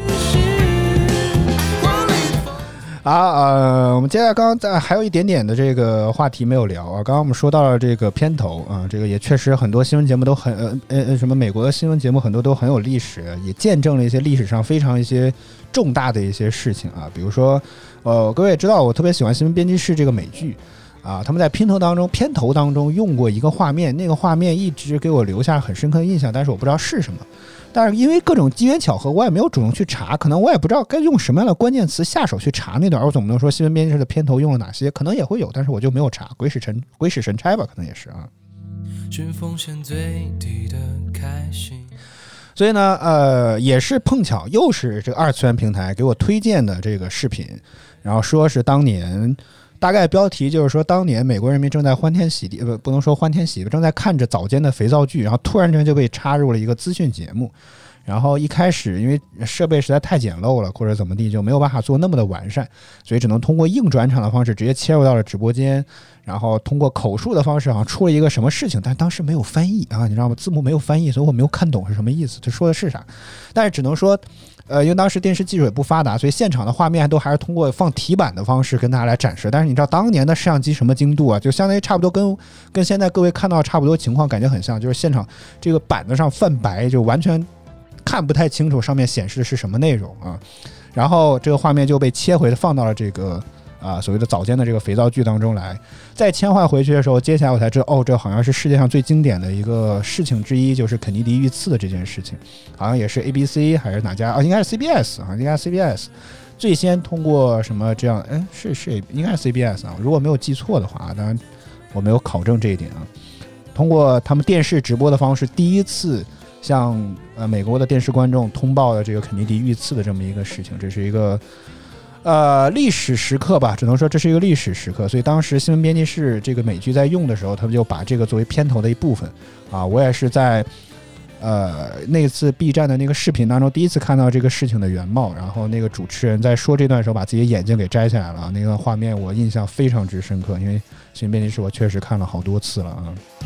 我们接下来刚刚还有一点点的这个话题没有聊刚刚我们说到了这个片头这个也确实很多新闻节目都很什么美国的新闻节目很多都很有历史，也见证了一些历史上非常一些重大的一些事情比如说各位也知道我特别喜欢新闻编辑室这个美剧他们在片头当中用过一个画面，那个画面一直给我留下很深刻的印象，但是我不知道是什么，但是因为各种机缘巧合我也没有主动去查，可能我也不知道该用什么样的关键词下手去查那段，我总不能说新闻编辑室的片头用了哪些，可能也会有，但是我就没有查，鬼使神差吧，可能也是寻风险最低的开心。 所以呢也是碰巧又是这个2次元平台给我推荐的这个视频，然后说是当年大概标题就是说当年美国人民正在欢天喜地不能说欢天喜地，正在看着早间的肥皂剧，然后突然间就被插入了一个资讯节目，然后一开始因为设备实在太简陋了或者怎么地就没有办法做那么的完善，所以只能通过硬转场的方式直接切入到了直播间，然后通过口述的方式好像出了一个什么事情，但当时没有翻译你知道吗？字幕没有翻译，所以我没有看懂是什么意思，这说的是啥，但是只能说因为当时电视技术也不发达，所以现场的画面都还是通过放题板的方式跟大家来展示，但是你知道当年的摄像机什么精度就相当于差不多跟现在各位看到差不多情况感觉很像，就是现场这个板子上泛白，就完全看不太清楚上面显示的是什么内容然后这个画面就被切回放到了这个所谓的早间的这个肥皂剧当中来，再切换回去的时候，接下来我才知道这好像是世界上最经典的一个事情之一，就是肯尼迪遇刺的这件事情，好像也是 ABC 还是哪家应该是 CBS 应该是 CBS 最先通过什么这样是应该是 CBS 如果没有记错的话，当然我没有考证这一点通过他们电视直播的方式第一次向美国的电视观众通报了这个肯尼迪遇刺的这么一个事情，这是一个历史时刻吧，只能说这是一个历史时刻，所以当时新闻编辑室这个美剧在用的时候，他们就把这个作为片头的一部分我也是在那次 B 站的那个视频当中第一次看到这个事情的原貌，然后那个主持人在说这段时候把自己的眼镜给摘下来了，那段画面我印象非常之深刻，因为新闻编辑室我确实看了好多次了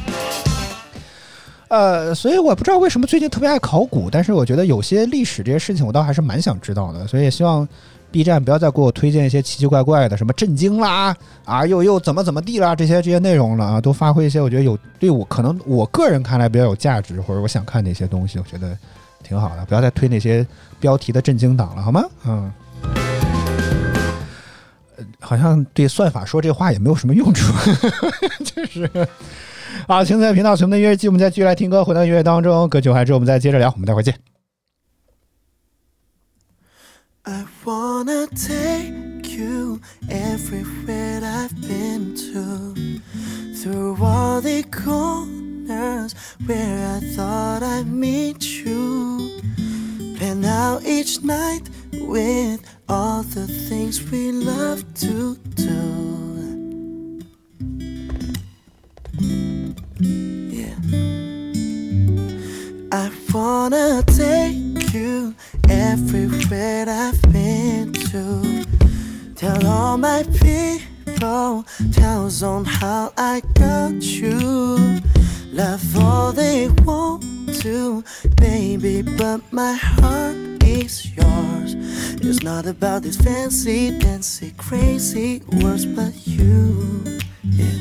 所以我不知道为什么最近特别爱考古，但是我觉得有些历史这些事情我倒还是蛮想知道的，所以也希望 B 站不要再给我推荐一些奇奇怪怪的什么震惊啦又怎么地啦这些内容了都发挥一些我觉得有对我可能我个人看来比较有价值或者我想看的一些东西，我觉得挺好的，不要再推那些标题的震惊党了，好吗？好像对算法说这话也没有什么用处，就是好，请在频道随我们的音乐季，我们再继续来听歌，回到音乐当中，歌曲完之后我们再接着聊，我们待会儿见。 I wanna take you everywhere I've been to, through all the corners where I thought I'd meet you, plan out each night with all the things we love to do. Yeah, I wanna take you everywhere I've been to, tell all my people, tells on how I got you, love all they want to, baby, but my heart is yours. It's not about these fancy, dancy, crazy words, but you, yeah.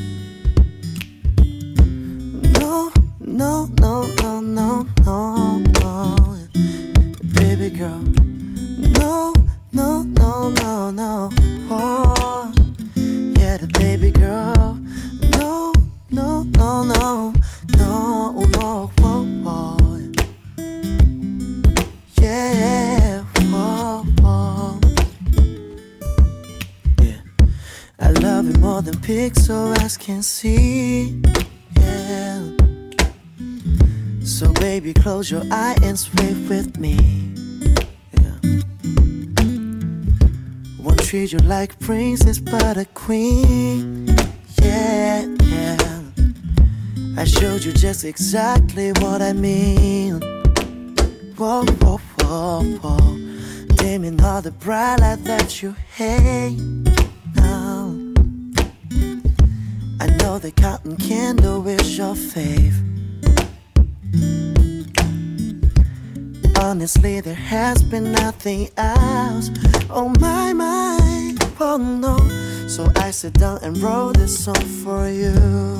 No, no, no, no, no, no, no, baby girl. No, no, no, no, no, oh, yeah, the baby girl. No, no, no, no, no, no, oh, oh, yeah, oh, oh, yeah. I love you more than pixel eyes can see, yeah. So baby, close your eye and sway with me, yeah. Won't treat you like princess but a queen, yeah, yeah. I showed you just exactly what I mean. Whoa, whoa, whoa, whoa. Dimming all the bright light that you hate now. I know the cotton candle is your fave. Honestly, there has been nothing else on my mind. Oh no, so I sit down and wrote this song for you.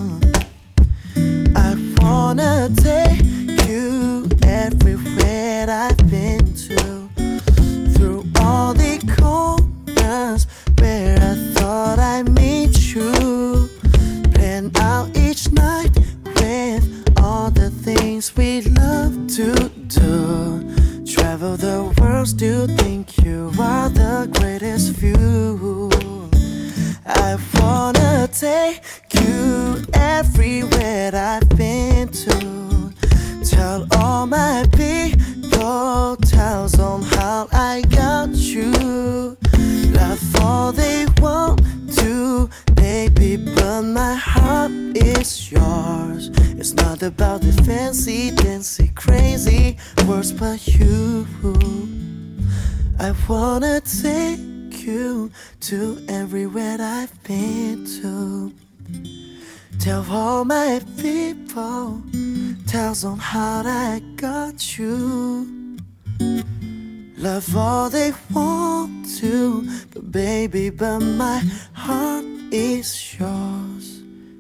I wanna take you everywhere I've been to, through all the corners where I thought I'd meet you, plan out each night with all the things we love to do, travel the world, still think you are the greatest view. I wanna take you everywhere I've been to, tell all my people, tells on how I got you, love all they want to, baby, but my heart is yours. It's not about the fancy, dancy, crazy words, but you. I wanna take you to everywhere I've been to, tell all my people, tells on how I got you, love all they want to, but baby, but my heart is yours.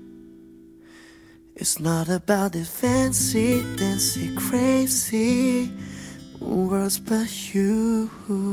It's not about the fancy, dancy, crazy words, but you.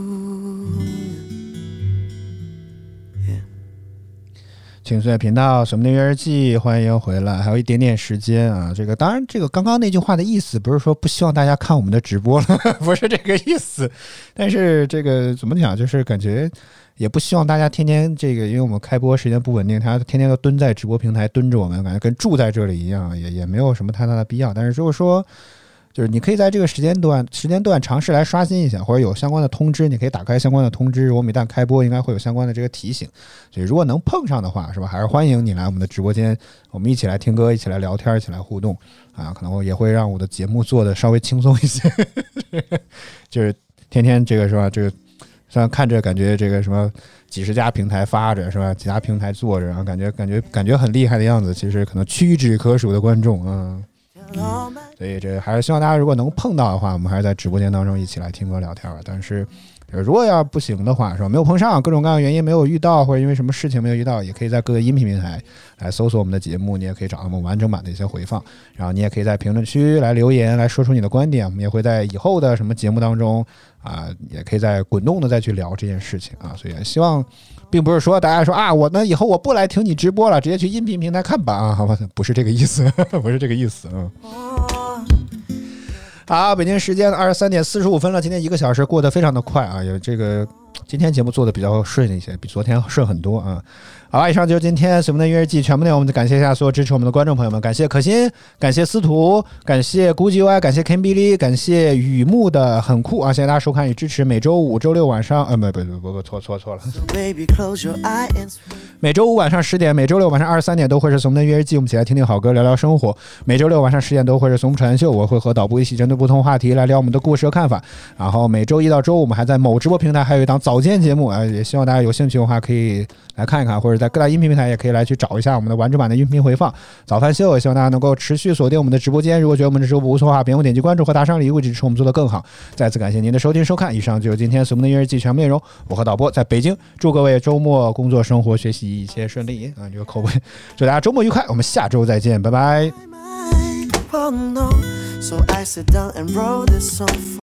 Yeah. 请随频道什么的音乐日记，欢迎回来，还有一点点时间啊。这个当然，这个刚刚那句话的意思不是说不希望大家看我们的直播了，不是这个意思。但是这个怎么讲，就是感觉也不希望大家天天这个，因为我们开播时间不稳定，他天天都蹲在直播平台蹲着我们，感觉跟住在这里一样，也没有什么太大的必要。但是如果说就是你可以在这个时间段尝试来刷新一下，或者有相关的通知，你可以打开相关的通知，我们一旦开播应该会有相关的这个提醒。所以如果能碰上的话，是吧，还是欢迎你来我们的直播间，我们一起来听歌，一起来聊天，一起来互动啊，可能也会让我的节目做的稍微轻松一些。就是天天这个是吧，这个虽然看着感觉这个什么几十家平台发着是吧，几家平台做着，然后感觉很厉害的样子，其实可能屈指可数的观众啊。所以这还是希望大家如果能碰到的话，我们还是在直播间当中一起来听歌聊天。但是如果要不行的话，是吧？没有碰上，各种各样的原因没有遇到，或者因为什么事情没有遇到，也可以在各个音频平台来搜索我们的节目，你也可以找到我们完整版的一些回放，然后你也可以在评论区来留言，来说出你的观点，我们也会在以后的什么节目当中也可以再滚动的再去聊这件事情所以希望并不是说大家说我呢以后我不来听你直播了，直接去音频平台看吧好吧，不是这个意思不是这个意思好，北京时间23点45分了，今天1个小时过得非常的快有这个今天节目做的比较顺一些，比昨天顺很多好吧，以上就是今天随梦的音乐日记全部内容，我们感谢一下所有支持我们的观众朋友们，感谢可心，感谢司徒，感谢估计歪，感谢 Kimberly， 感谢雨木的很酷谢谢大家收看与支持，每周五周六晚上不错了每周五晚上10点，每周六晚上23点都会是随梦的音乐日记，我们一起来听听好歌，聊聊生活，每周六晚上10点都会是随梦传秀，我会和导播一起针对不同话题来聊我们的故事和看法，然后每周一到周五我们还在某直播平台还有一档早间节目也希望大家有兴趣的话可以来看一看，或者在各大音频平台也可以来去找一下我们的完整版的音频回放。早饭秀也希望大家能够持续锁定我们的直播间，如果觉得我们的直播不错的话，别忘点击关注和打赏礼物支持我们做得更好。再次感谢您的收听收看，以上就是今天随梦的音乐日记全部内容，我和导播在北京，祝各位周末工作生活学习一切顺利这个口味，祝大家周末愉快，我们下周再见，拜拜。